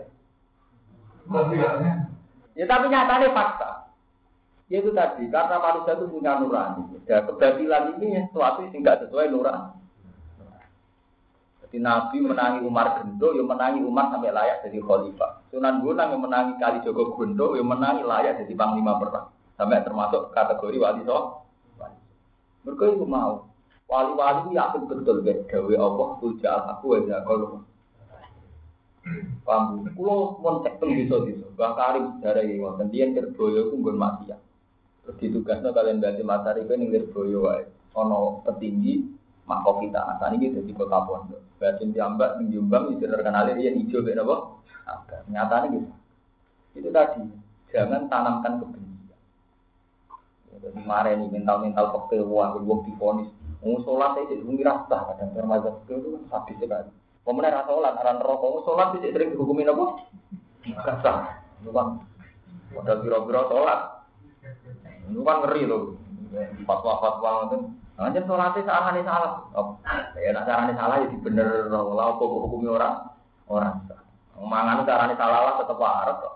Ya tapi nyatanya fakta. Ya itu tadi karena manusia itu punya nurani. Ya kebatilan ini sesuatu yang tidak sesuai nurani. Jadi Nabi menangi Umar Gendo, yang menangi Umar sampai layak jadi khalifah. Sunan Bonang yang menangi Kali Jogo Gendo, yang menangi layak jadi panglima perang. Sampai termasuk kategori wali so. Mereka itu mau. Wali-wali itu yakin betul deh. Gawe Allah, puja aku aja kalau. Paham? Kulo mon cek teng desa-desa. Bang Karim sejarah iki wonten tiyang Lirboyo ku nggon maksiat. Terus ditugasno kalian Mbah Matari ku ning Lirboyo wae. Ana petinggi Makofita. Asane iki dadi kota pondok. Batin diambak ning Jombang iki terkenal yen ijo mek napa? Agak. Nyatane gitu. Itu tadi, jangan tanamkan kebencian. Jadi mareni mental-mental koktel wah wong difonis. Wong salat iki wong rasa kadang termazhab itu kan sadis sekali. Pemenang rasa sholat, aran rokok, sholat bisa sering dihukumin apa? Kasar, itu kan, modal biro-biro sholat, itu kan ngeri loh, fatwa-fatwa itu, hanya sholatnya searahnya salah, oh, ya nak caranya salah jadi bener, lah apa hukumi orang, orang, mangan caranya salah lah tetap waras kok.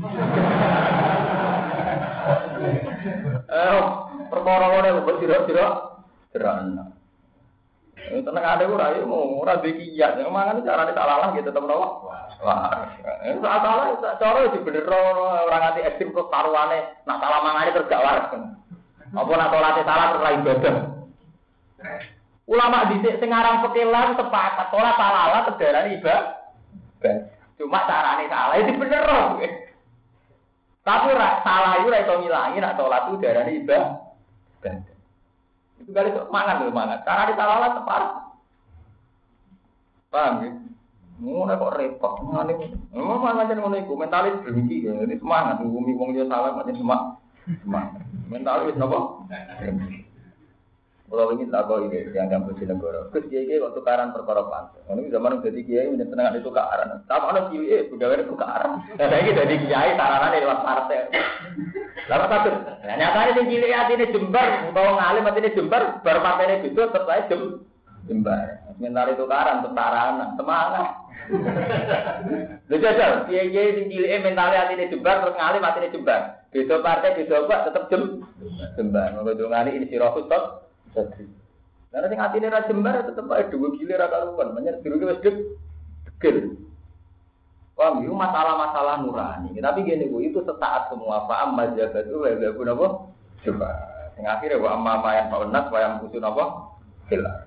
Eh, perkara-perkara itu biro-biro, cerana. Tenang ada ora yo ora bekiat. Mangan carane tak lalah gitu tetep nopo. Wah. Itu salah cara di bener ora nganti ekstrem terus taruhane nak salah mangane terus gak waras. Apa nak salate salah terus lain ibadah. Ulama dhisik sing aran pekelan sepakat ora salah terdarani ibadah. Cuma carane salah itu bener. Tapi ora salah yo ora iso ngilangi nak salat itu darani ibadah. Itu kali itu mangan lho mangan. Cara ditalalah tepat. Paham ya? Ngono kok repot. Ngene. Ngono macam ngono iku mentalis drengki ya. Ini semangat ngumi wong yo salah macam semangat. Semangat. Mentalis napa? Kalau ini tak kau ini yang yang Bojonegoro. Terus kiai kiai waktu tukaran perkara pantai. Ini zaman jadi kiai menyenangkan itu tukaran. Sama ada kiai pegawai itu tukaran. Dan ini jadi kiai taranan lewat partai. Lalu satu. Nah, nyatanya si cilik hati ini jembar. Kalau ngalim hati ini jembar. Baru partai ini gitu setelah jem jembar. Sementara itu tukaran taranan semangat. Lalu jajal kiai kiai si cilik mentalnya hati ini jembar terus ngalim hati ini jembar. Beda partai beda apa tetap jem jembar. Kalau ngali ini si Rohut tot. Jadi, karena sing atine ra jembar tetep ae dhewe gile ra karuan, menyang dirune wis degel. Paham yo masalah-masalah nurani. Tapi gini Bu, itu sesaat semua paham mazhab itu lha guna apa? Coba. Sing akhire wa amma mayan paunas wa yang usun apa? Hilang.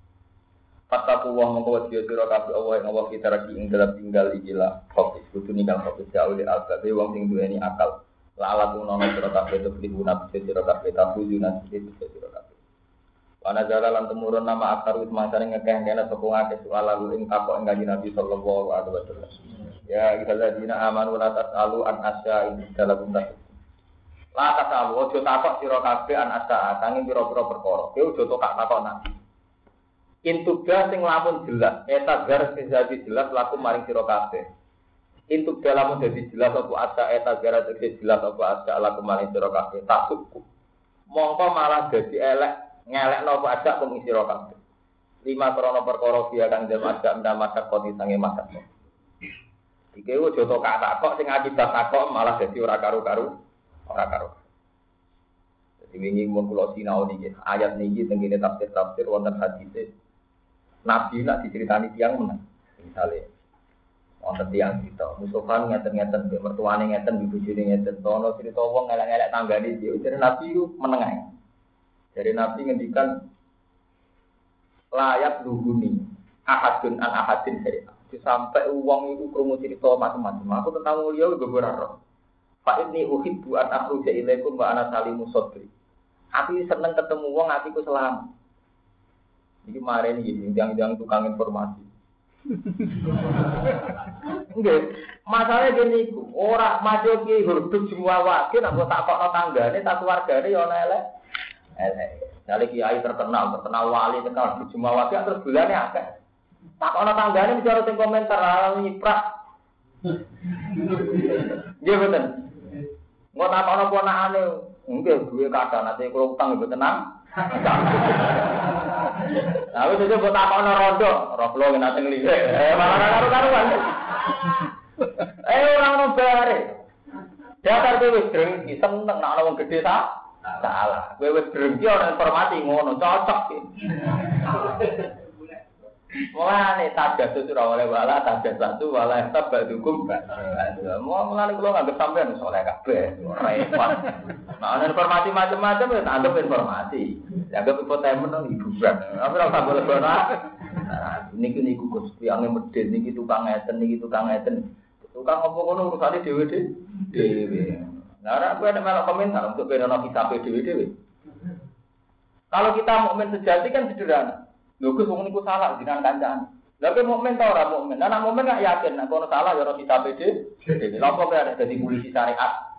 Fattaku wa mongko wasiya sira kabeh Allah ing Allah kita ragi ing dalam tinggal ikilah fokus kudu ninggal fokus jauh di albabe wong sing duweni akal. La ala tunono sira kabeh to pribuna sira kabeh tafujuna sira kabeh. Wana jala lan temurun nama akar wis mangsane ngekeh kene sapa ngake soal lalu ing takok ing kanjeng Nabi sallallahu alaihi wasallam. Ya illadzina amanu la tasalu an asya ing dalam tas. La tasalu ojo takok sira kabeh an asya sanging pira-pira perkara. Kowe ojo takok Nabi. Intuga sing lamun jelas, eta gar sing dadi jelas laku maring sira kabeh. Intuga lamun dadi jelas apa asya eta gar sing jelas apa asya laku maring sira kabeh. Takutku. Mongko malah dadi elek ngelek nopo ajak pengisi rokaat. Lima krono perkara dia kang dem ajak ndak masak koti sange masak. Iki wo joto kak takok sing akibat takok malah dadi ora karu-karu, ora karu. Dadi wingi mun kula sinau niki ayat niki teng kene tafsir-tafsir wonten hadis. Nabi nak diceritani tiyang menang. Misale wonten tiyang cerita, Mustofa ngeten-ngeten mbek mertuane ngeten, bojone ngeten, tono cerita wong ngelek-ngelek tanggane dia. Jadi Nabi ku meneng. Dari Nabi ngendikan layak duhuni ahadun an ahadin saya. Sampai uang itu krungu cerita macam-macam. Aku tentang mulia beberapa roh. Fa inni uhibbu an akhruja ilaikum wa ana salimu sadri. Aku seneng ketemu wong atiku selamat. Iki maren iki jangan-jangan tukang informasi. Enggak, masalahnya gini iku, ora maju ki hurduk semua wakil aku takokno tanggane, tak keluargane ya ana elek. Elek. Jale kiai terkenal, terkenal wali, terkenal semua wakil terus bulane akeh. Takokno tanggane mesti ora sing komentar ala nyiprak. Nggih mboten. Engko takokno ponakane, nggih duwe kadang ate kula utang mboten tenang. Aku juga buat takon rondo, rondo ngene teng liwe. Eh malah karo-karuan. Eh ora ono bare. Datar kowe wis drengki seneng nek ana wong gedhe ta? Salah. Kowe wis drengki ana informasi ngono, cocok iki. Mulane tajatuh ora oleh wala tajatuh wala tabadukum. Mulane kula nganggep sampean soleh kabeh, repot. Nah, ana informasi macam-macam ya anggap informasi. Dianggap infotainment hiburan. Tapi ora usah boleh-boleh. Nah, niki niku Gus, tiyang medhit niki tukang ngeten niki tukang ngeten. Tukang apa ngono urusane dhewe-dhewe. Nah, ora kowe nek melok komentar untuk benono kitabe dhewe-dhewe. Kalau kita mukmin sejati kan sederhana. Lho Gus wong niku salah jenengan kancane. Lah kowe mukmin ta ora mukmin? Lah nek mukmin gak yakin nek kono salah ya ora kitabe dhewe. Lha kok ada dadi polisi syariat.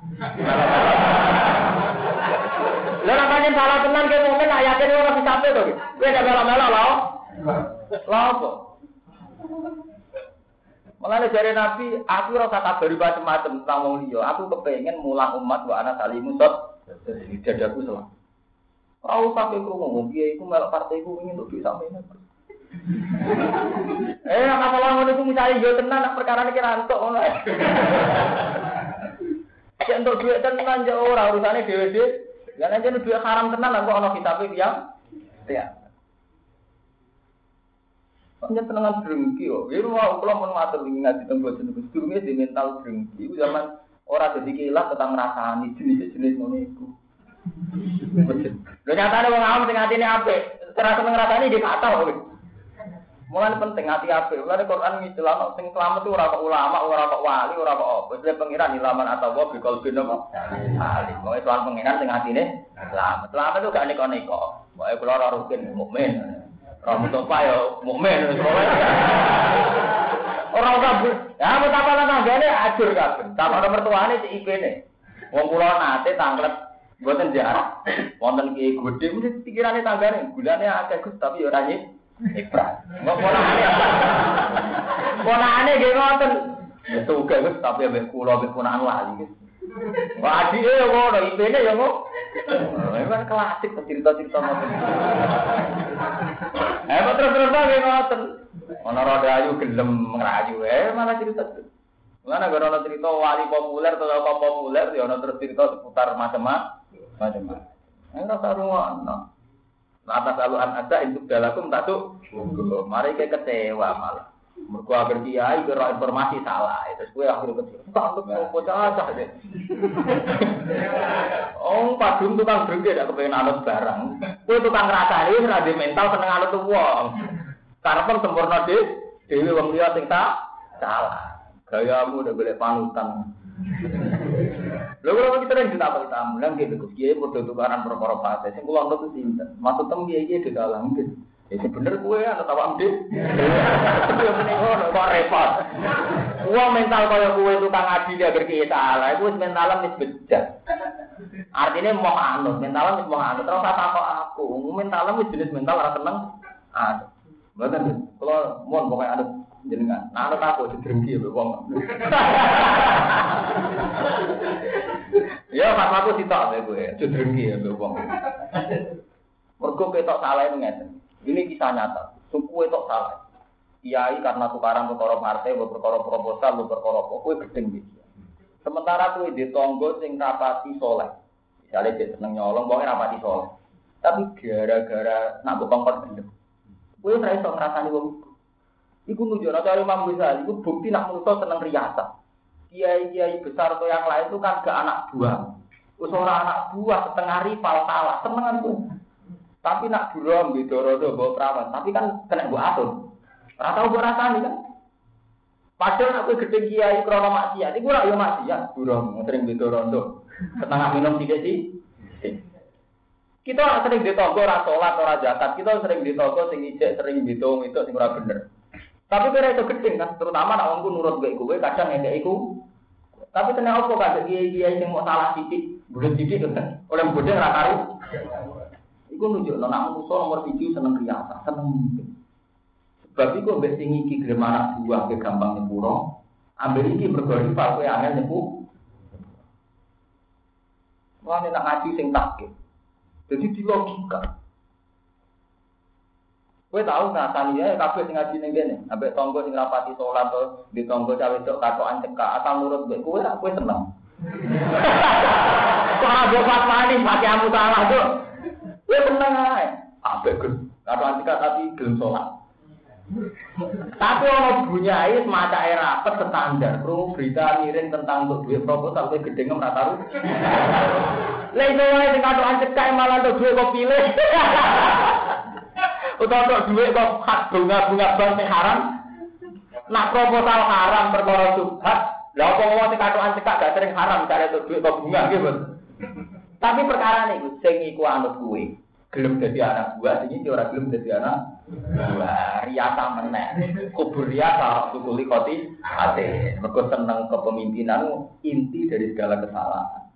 Lah nek pancen salah tenan kowe mukmin gak yakin ora kitabe to. Kowe nek melo-melo lho. Lha apa? Mulane jare Nabi, aku ora usah kabari macam-macam tentang wong liya. Aku kepengin mulang umat wa ana salimusot dadaku salah. Ora usah kowe krungu, piye iku melok partai iku ingin untuk sampeyan. Eh, masalah ngono iku misale yo tenan nek perkara iki ra entuk ngono. Nek entuk dhuwit tenan yo ora urusane dhewe-dhewe. Ya nek jenenge dhuwit haram tenan kok ana kitabe tiyang. Ya. Panjen tenangan drengki yo. Ya ora kula mun matur wingi ngaji teng boten Gus durunge di mental drengki. Iku zaman ora dadi kilat tetang ngrasani jenis-jenis ngono iku. Lho nyatane wong awam sing atine apik, ora seneng ngrasani nggih fatal kowe. Mulane penting ati apik. Mulane Quran ngicelano sing selamat itu ora kok ulama, ora kok wali, ora kok apa. Wis pengiran ilaman atau wa bikol bin apa. Salim. Wong soal pengiran sing atine selamat. Selamat itu gak neko-neko. Pokoke kula ora rukin mukmin. Ora mutofa ya mukmin wis pokoke. Ora kabeh. Ya betapa tanggane ajur kabeh. Sama mertuane si ipene. Wong kula nate tanglet mboten jarak. Wonten ki gedhe mesti pikirane tanggane, gulane akeh Gus tapi ora nyip. Ibrat. Mbok ponakane. Ponakane nggih ngoten. Ya tuga Gus tapi ambek kula ambek ponakan wali Gus. Wah adike yo ngono, ipene yo ngono. Memang klasik cerita-cerita ngoten. Eh terus-terus nggih ngoten. Ana rodayu gelem ngrayu eh malah cerita. Mana gara-gara cerita wali populer atau apa populer, ya ana terus cerita seputar macam-macam. Macam-macam. Enggak sarungono. Atas aluan ada untuk dalakum tak tuh. Mari ke kecewa malah. Mergo agar kiai kira informasi salah. Terus kowe akhir kecewa. Tak untuk bocah cah deh. Oh, padung tukang drengke dak kepengin anut barang. Kowe tukang ngrasani wis ra mental seneng anut wong. Karepen sempurna dhewe wong liya sing salah. Gayamu udah boleh panutan. Lho kalau kita ning ditapel tamu, nang kene Gus Kiai padha tukaran perkara fase. Sing kula ngerti sinten. Maksud tem kiai iki dalang iki. Ya bener kowe ana tawak ndek. Tapi yo meneng ngono kok repot. Wong mental kaya kowe tukang adil agar kiai salah, iku wis mentalan wis bejat. Artine mau anut, mentalan wis mau anut. Terus apa kok aku? Mentalan wis jenis mental ora seneng. Ah. Mboten, kula mohon pokoke anut jenengan. Nah, anut aku didrengki ya wong. Ya, pas aku sitok ya kowe, didrengki ya wong. Mergo ketok salah ngeten. Ini kisah nyata. Suku itu salah. Kiai karena tukaran perkara partai, perkara proposal, perkara apa, kowe gedeng iki. Sementara kowe di tangga sing rapati saleh. Misale dhek seneng nyolong, pokoke rapati saleh. Tapi gara-gara nak kongkon gendem. Kowe ora iso ngrasani wong iku. Iku nunjukno cara Imam Ghazali, iku bukti nak manusa seneng riasa. Kiai-kiai besar atau yang lain itu kan gak anak buah. Wis ora anak buah setengah rival kalah, senengan itu. Tapi nak burom gitu rodo bawa perawan, tapi kan kena mbok atur. Ora tau mbok rasani kan. Padahal aku gedhe kiai krana maksiat, iku ora yo maksiat, burom sering gitu rondo. Setengah minum sithik sih. Kita sering ditonggo ora salat ora zakat, kita sering ditonggo sing ijek sering ditung itu sing ora bener. Tapi kira itu gedeng kan, terutama nak wongku nurut gue gue kadang ngekek iku. Tapi kena apa kadang kiai-kiai sing mau salah sithik, bulet sithik kan. Oleh bodhe ora karo. Iku nunjukno nak manusa nomor tujuh seneng riasa, seneng mimpi. Sebab iku mbek sing iki gelem anak buah ke gampang nyepuro, ambil iki mergo rival kowe angel nyepu. Wah nek ngaji sing takik. Jadi di logika. Kowe tahu ngrasani ya kabeh sing ngaji ning kene, ambek tangga sing rapati salat to, di tangga cawe wedok katokan cekak asal nurut kowe, kowe ra kowe seneng. Kok mbok fatwani mati amu salah kok. Kowe seneng ae. Ambek katokan cekak tapi gelem salat. Tapi ono bunyai semacam era rapet standar, krungu berita miring tentang untuk duit proposal kowe gedhe ora tahu. Lha iso wae sing katokan cekak malah untuk duit kok pilih. Utawa duit kok hak bunga-bunga bank sing haram. Nak proposal haram perkara subhat, lha apa wong sing katokan cekak gak sering haram cari untuk duit kok bunga nggih, Bos. Tapi perkara niku sing iku anut kuwe, gelem dadi anak buah, sing iki ora gelem dadi anak buah. Riasa meneh. Kubur riasa tukuli koti ate. Mergo seneng kepemimpinan inti dari segala kesalahan.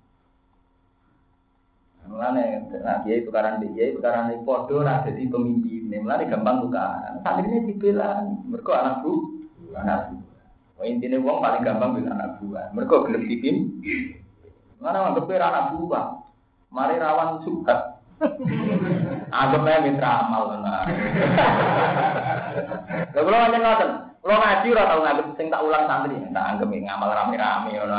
Mulane nah kiai tukaran kiai tukaran iki padha ora dadi pemimpin. Mulane gampang tukaran. Santrine dibela mergo anak bu, anak bu. Oh intine wong paling gampang bela anak buah. Mergo gelem dipimpin. Mana anggap anak buah. Mari rawan subhat. Anggap ae mitra amal tenan. Lha kula nyen ngoten. Kula ngaji ora tau nganggep sing tak ulang santri, tak anggap ngamal rame-rame ngono.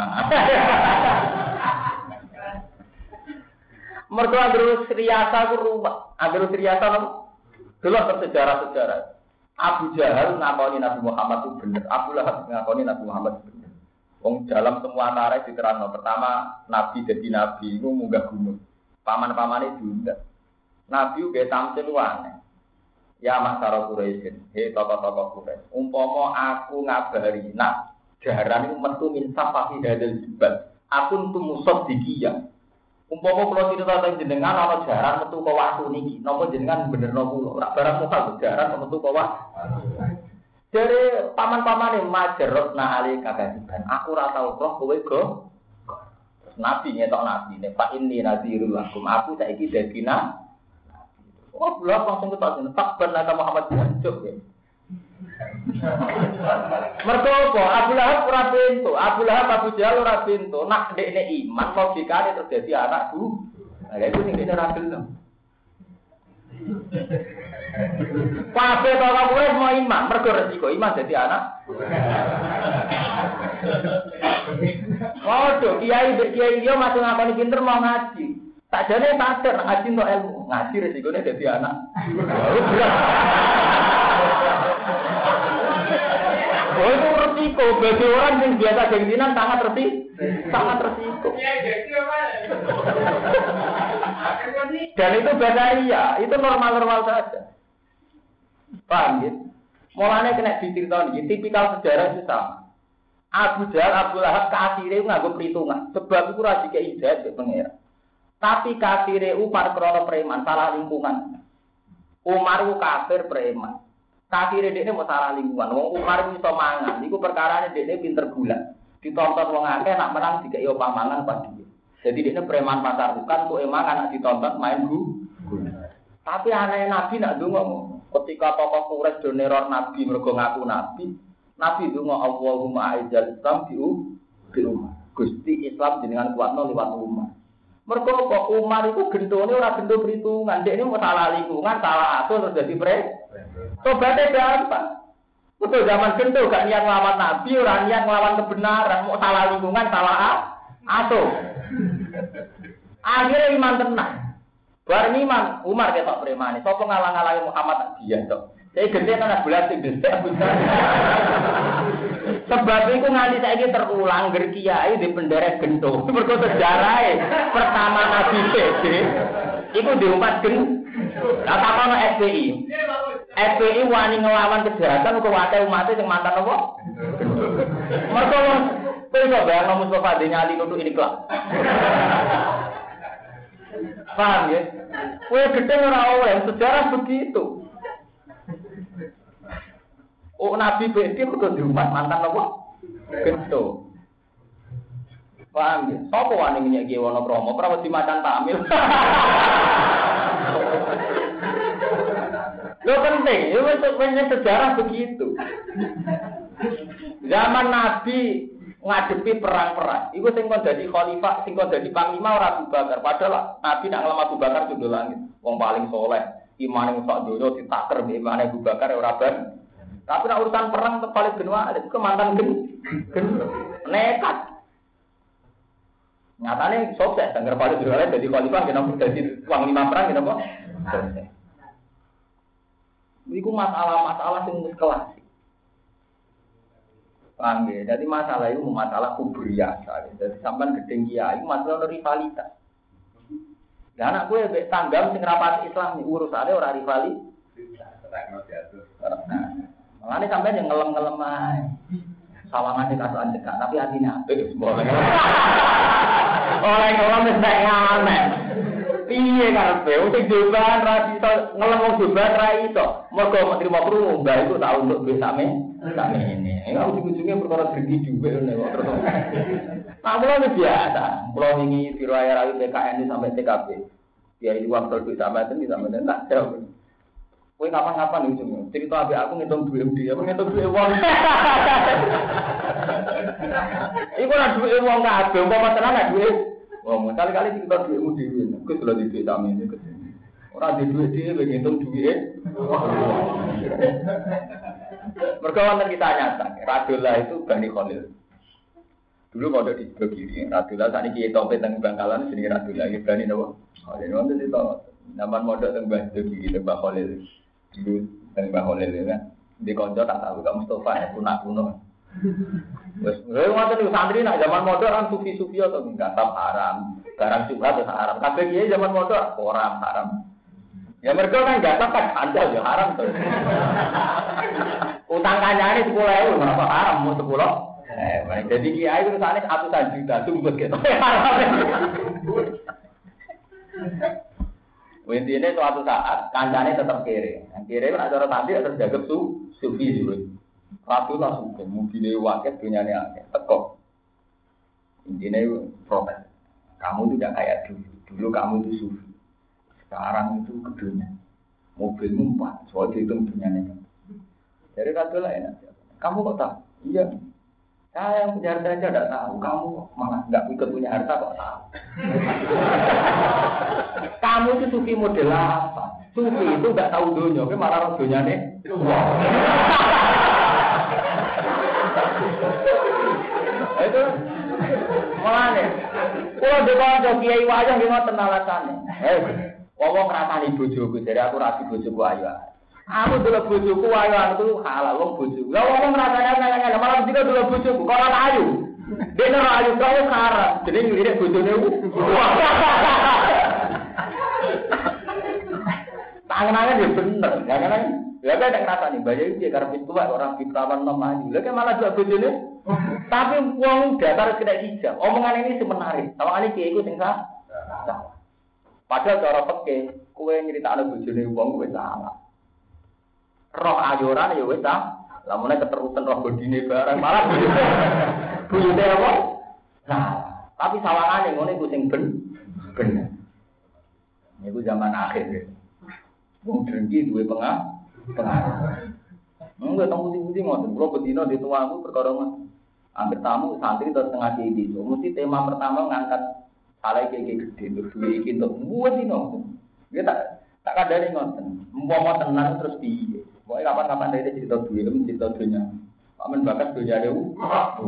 Mergo terus riasa ku ruwet. Agar riasa lho. Delok sejarah-sejarah. Abu Jahal ngakoni Nabi Muhammad itu bener. Abu Lahab ngakoni Nabi Muhammad itu bener. Wong dalam semua tarikh diterangno. Pertama Nabi jadi nabi iku munggah gunung. Paman-pamane diundang. Nabi uga tampil aneh. Ya masyarakat Quraisy, he tokoh-tokoh Quraisy. Umpama aku ngabari, nah jaran iku metu min safahi hadal jibal. Aku tumusot dikiya. Umpama kula cerita teng jenengan ana jaran metu ka watu niki, napa jenengan benerno kula? Ora barang mokal jaran metu ka watu. Jare paman-pamane majarotna ali kagadiban. Aku ora tau roh kowe go. Nabi nyetok nabi ne Pak ini nazirul lakum. Aku saiki dadi nabi. Oh, belum langsung ketok jeneng tak benar Muhammad jancuk ya. Mergo apa? Abu Lahab ora pintu, Abu Lahab Abu Jahal ora pintu. Nak ndekne iman logikane terjadi anak bu. Lah iku sing dene ra gelem. Kabeh kok kowe mau iman, mergo resiko iman dadi anak. Waduh, kiai kiai dia masih ngakoni pinter mau ngaji. Sakjane sadar ngaji untuk ilmu, ngaji resikone dadi anak. Oh itu resiko bagi orang yang biasa gengsinan sangat resiko, sangat resiko. Dan itu basaria, itu normal-normal saja. Paham ya? Mulanya kena diceritakan, tipikal sejarah itu sama. Abu Jahal, Abu Lahab kafire nganggo perhitungan. Sebab itu ra dikei hidayah ke pangeran. Tapi kafire Umar krono preman, salah lingkungan. Umar ku kafir preman. Kafire dekne mau salah lingkungan. Wong Umar iso mangan, iku perkarane dekne pinter gula. Ditonton wong akeh nak menang dikei pamangan pas dhewe. Jadi dekne preman pasar bukan kok emangan nak ditonton main gula. Tapi aneh Nabi nak ndonga ketika tokoh Quraisy do neror Nabi mergo ngaku Nabi. Nabi donga Allahumma aizal Islam biu biu. Gusti Islam jenengan kuatno liwat Umar. Mergo kok Umar itu gentone ora gento perhitungan, dekne mau salah lingkungan, salah atur terus dadi pre. Tobaté gampang. Betul zaman gento gak niat nglawan Nabi, ora niat nglawan kebenaran, mau salah lingkungan, salah atur. Akhirnya iman tenang. Bareng iman Umar ketok premane, sapa ngalang-alangi Muhammad dia tok. Saya gede anak bulan sing gede sebab itu nganti saiki terulang ger kiai di penderek gento. Mergo sejarahe pertama Nabi P D iku diumpat gen. Lah takono S P I. S P I wani nglawan kejahatan kok wae umate sing mantan apa? Mergo kowe iso bayangno Mustofa Denyali nutuk ini kelak. Paham ya? Kowe gede ora oleh sejarah begitu. Oh Nabi P D kudu diumat mantan apa? Gento. Paham ya? Sapa wani nyek ki wono promo, ora wedi macan tamil. Lo penting, itu sebenarnya sejarah begitu. Zaman Nabi ngadepi perang-perang, itu sing kon dadi khalifah, sing kon dadi panglima ora Abu Bakar. Padahal Nabi nak ngelem Abu Bakar judul langit, wong paling soleh. Imane sak donya ditaker mbek imane Abu Bakar ora ben. Tapi nek urusan perang tetep paling genwa, itu mantan gen. gen nekat. Nyatane sukses, Sanggar Paling Genwa dadi khalifah kenapa dadi uang lima perang kenapa? Sukses. Iku masalah-masalah sing wis kelas. Paham ya? Jadi masalah itu masalah kubriyah. Jadi sampean gedeng kiai masalah rivalitas. Lah anak gue mbek tanggam sing rapat Islam urusane ora rivali. Mulane sampean yang ngelem-ngelem ae. Sawangan di kasuan dekat tapi hatinya apik boleh. Oleh ngelem wis nek aneh. Piye karepe sing joban ra iso ngelem wong joban ra iso. Mergo menteri mau krungu mbah iku tak untuk duit same same ini. Enggak ujung-ujungnya perkara pergi juga ngene kok terus. Nah, mulai biasa. Pulau ini diraya rawi P K N sampai T K P. Dia di waktu duit sama itu bisa menentak jauh. Kowe kapan-kapan ujungnya cerita abe aku ngitung duit dia, aku ngitung duit uang. Iku ora duit uang kabeh, umpama tenan nek duit. Wah, kali-kali kita duitmu dhewe. Gus lho di duit sami iki. Ora di duit dhewe ngitung duit. Mergo wonten kita nyata, Radullah itu Bani Khalil. Dulu kalau di sebelah kiri, Radullah saat ini kita open tentang Bangkalan, sini Radullah, kita Bani Nawa. Khalil, wonten itu, nama modal tentang Bani kiri, tentang Khalil. Dulu tentang Khalil ya, di konco tak tahu, kamu Mustafa ya, kunak kuno. Wes, wonten itu santri nak zaman modal kan sufi-sufi atau enggak tam haram, barang subhat atau haram. Kabeh kiai zaman modal orang haram. Ya mereka kan enggak kan andal ya haram tuh. Utang kancane sepuluh ribu, kenapa haram mau sepuluh? Eh, jadi kiai itu sana ratusan juta, sumpah gitu. Intinya suatu saat kancane tetap kere. Kere kan ada orang tadi ada jaga su, sufi juga. Ratu langsung ke mobilnya wakil punya nih akeh, tekok. Intinya protes. Kamu tidak kayak dulu. Dulu kamu itu sufi. Sekarang itu kedunya. Mobilmu empat, soalnya itu punya nih. Jadi kata lain, kamu kok tahu? Iya. Saya yang punya harta aja tidak tahu. Kamu malah nggak ikut punya harta kok tahu. Kamu itu sufi model apa? Sufi itu nggak tahu dunia, tapi malah tahu dunia nih. Itu malah nih. Kalau depan jauh kiai wajah gimana tenalasannya? Eh, ngomong kerasani bojoku, jadi aku rasi bojoku ayo. Aku dulu bojoku ayo itu halal wong bojoku. Lah ngomong rasanya nanya-nanya malah juga dulu bojoku kalau ayu. Dia ora ayu kau karat. Jadi ngene bojone ku. Tangan-tangan dia bener, jangan ya kan nek rasane bayar iki karep tua orang fitrawan nom ayu. Lah kan malah juga bojone. Tapi wong datar kena hijab. Omongan ini semenarik. Tawangane kiai iku sing sah. Padahal cara peke, kowe nyritakno bojone wong kowe salah. Roh ayoran ya wis ta. Lamune keterusan roh bodine barang malah buyute apa? Nah, tapi sawangane ngene iku sing ben bener. Niku zaman akhir. Wong drengki duwe pengah pengaruh. Enggak tahu putih-putih ngoten. Kulo bedino di tuaku perkara ngoten. Ambil tamu santri terus tengah di itu. Mesti tema pertama ngangkat saleh iki gede terus duwe iki entuk. Buat dino. Dia tak tak kadane ngoten. Umpama tenan terus piye? Pokoke kapan-kapan dhewe cerita duwe, cerita dunya. Pamen bakat dunya dewe.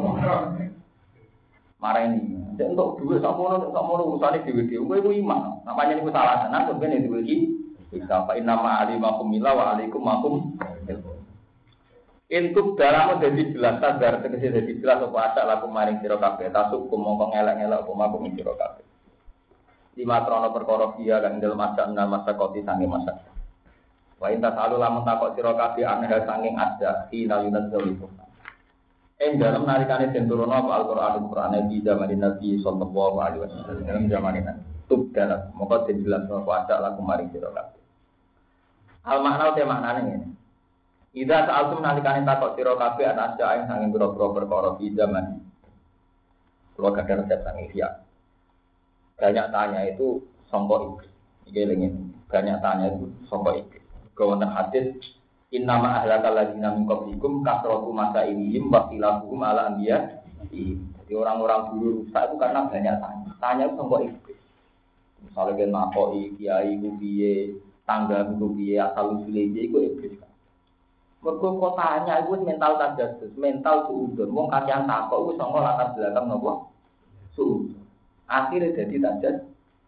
Marah ini. Nek entuk duwe sakmono sakmono urusane dhewe-dhewe. Kowe iku iman. Namanya niku salah tenan kok kene duwe iki. Kita fa inna ma alimakum mila wa alaikum makum. Intub dalam dadi jelas sadar tegese dadi jelas apa asak laku maring sira kabeh tasuk mongko ngelak-ngelak apa makum sira kabeh. Lima trono perkara dia kan dalem asak nang masa koti sange masa. Wa inta salu lamun takok sira kabeh aneh sanging ada ila yunat zalikum. Ing dalem nalikane den turun apa Al-Qur'an Al-Qur'an di zaman Nabi sallallahu alaihi wasallam dalam zaman ini. Tub dalam mongko den jelas apa asak laku maring sira kabeh. Al makna te maknane ngene. Ida sa'altum nalikane takok sira kabeh ana ajae sanging pira-pira perkara di zaman. Kulo kadang resep sanging siap. Banyak tanya itu sangka iblis. Iki lengene. Banyak tanya itu sangka iblis. Wonten hadis innama ahlakal ladzina min qablikum kasratu masailihim wa khilafuhum ala anbiya. Jadi orang-orang dulu rusak itu karena banyak tanya. Tanya itu sangka iblis. Misalnya kan nakoki kiai ku piye tangga itu biaya asal usul itu iblis. Mergo kotanya itu mental tajassus, mental suudon. Wong kakean takok iku sanga latar belakang napa? Suudon. Akhire dadi tajas.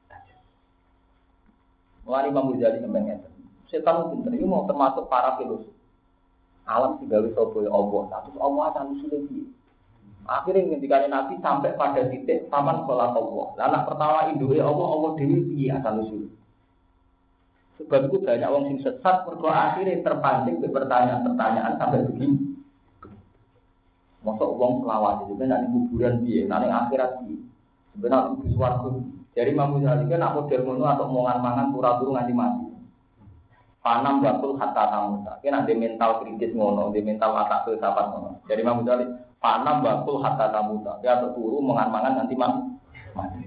Mulane Imam Ghazali sampeyan ngeten. Setan pinter iki mau termasuk para filosof. Alam digawe sapa ya Allah, status Allah asal usul iki. Akhirnya ngendikane Nabi sampai pada titik paman sholat Allah. Anak pertama induke Allah, Allah dewi piye asal usul. Sebab itu banyak orang sing sesat mergo akhirnya terpancing ke pertanyaan-pertanyaan sampai begini. Mosok wong selawat itu kan nek kuburan piye, nek akhirat piye. Sebenarnya itu suwarga. Jadi Imam Ghazali kan nak model ngono atau omongan mangan pura-pura nganti mati. Panam batul hatta tamuta. Kena ada mental kritis ngono, ada mental mata filsafat ngono. Jadi Imam Ghazali panam batul hatta tamuta. Dia terturu mangan-mangan nanti mati.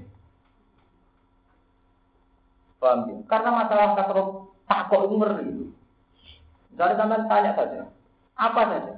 Paham ya? Karena masalah kasro takok itu ngeri. Misalnya sampean tanya saja, apa saja?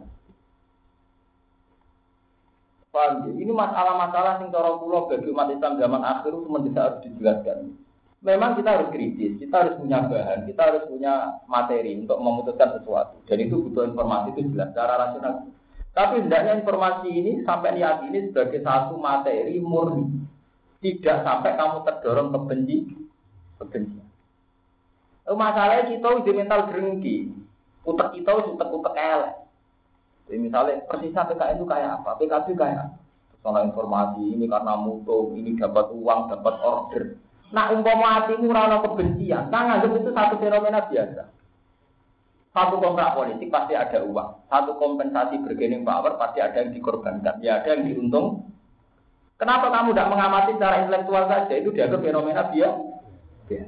Paham ya? Ini masalah-masalah sing cara kula bagi umat Islam zaman akhir itu mendesak harus dijelaskan. Memang kita harus kritis, kita harus punya bahan, kita harus punya materi untuk memutuskan sesuatu. Dan itu butuh informasi itu jelas secara rasional. Tapi hendaknya informasi ini sampai diyakini sebagai satu materi murni. Tidak sampai kamu terdorong ke benci, kebencian. Masalahnya kita udah mental gerengki. Utek kita utek-utek elek. Jadi misalnya persisnya P K I itu kayak apa? P K B kayak apa? Soal informasi ini karena mutu, ini dapat uang, dapat order. Nah, umpama hatimu ora kebencian, nah nganggep itu satu fenomena biasa. Satu kontrak politik pasti ada uang, satu kompensasi bargaining power pasti ada yang dikorbankan, ya ada yang diuntung. Kenapa kamu tidak mengamati secara intelektual saja? Itu dianggap fenomena biasa.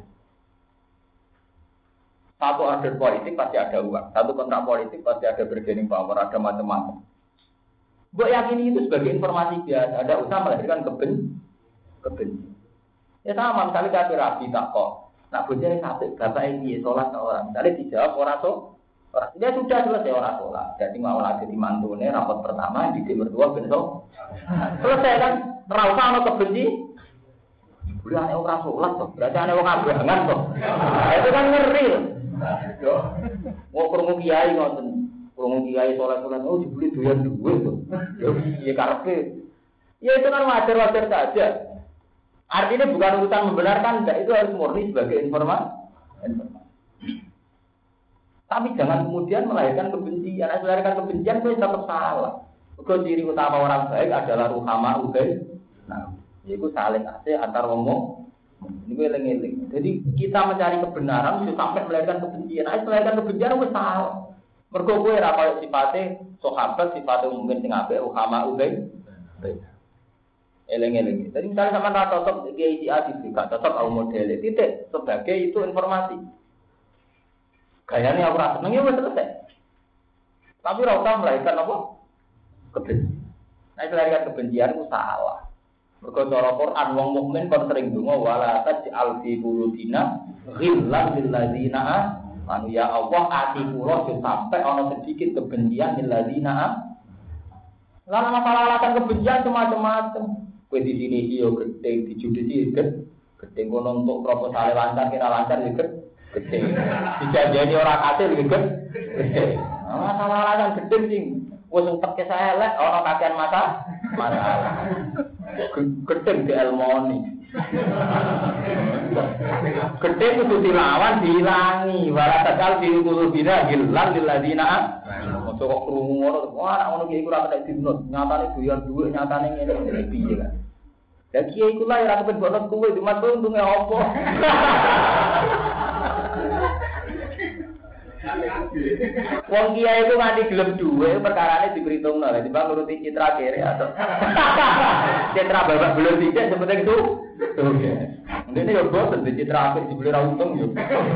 Satu order politik pasti ada uang, satu kontrak politik pasti ada bargaining power, ada macam-macam. Mbok yakini itu sebagai informasi biasa, ada usaha melahirkan keben, kebencian. Ya sama, misalnya kafir rabi tak kok. Nak bojone sate, bapak ini sholat orang. Misalnya dijawab orang so, orang dia sudah selesai orang sholat. Jadi mau lagi di mantune rapat pertama di timur dua besok. Selesai kan? Terasa ono kebenci. Bulan orang sholat toh, berarti ane orang abangan toh. Itu kan ngeri. Mau krungu kiai ngoten, krungu kiai sholat-sholat oh dibeli doyan duit toh. Ya piye karepe? Ya itu kan wajar-wajar saja. Artinya bukan urusan membenarkan, enggak, itu harus murni sebagai informasi. Tapi jangan kemudian melahirkan kebencian. Nah, melahirkan kebencian itu tetap salah. Because ciri utama orang baik adalah ruhama ubaid. Nah, itu saling asih antar ngomong. Ini eling-eling. Jadi kita mencari kebenaran itu sampai melahirkan kebencian. Nah, melahirkan kebencian itu salah. Mergo kowe ora kaya sifate sahabat, sifate mungkin sing apik ruhama ubaid. Eleng-eleng. Jadi misalnya sama rata cocok kiai si A di gak cocok au model titik sebagai itu informasi. Gayane aku rasa seneng ya wis selesai. Tapi ora usah melahirkan apa? Kebencian. Nah, melahirkan kebencian itu salah. Mergo cara Quran wong mukmin kon sering donga wala taj'al fi qulubina ghillan lil ladzina amanu ya Allah ati kula sampai ana sedikit kebencian lil ladzina. Lalu masalah alasan kebencian semacam-macam. Kue di sini iyo gede, di judisi gede, gede kono untuk proposal lancar kira lancar juga gede. Dijanjani orang hasil juga gede. Masalah alasan gede sih, wes untuk kisah elek orang kakean mata masalah. Gede di Elmoni. Gede itu dilawan dihilangi, walau takal diukur bina hilang diladina. Masuk kok krungu ngono, wah anak ngono kiai ku ora kena dinut, nyatane doyan dhuwit, nyatane ngene piye kan. Lah kiai ku lah ora kepen bonus kuwe, cuma untunge opo. Wong kiai itu nganti gelem dhuwit, perkarane diperhitungno, lha timbang nuruti citra kere atau citra babak belum dicek seperti itu. Oke. Ndene yo boten di citra apik dibeli ra untung yo.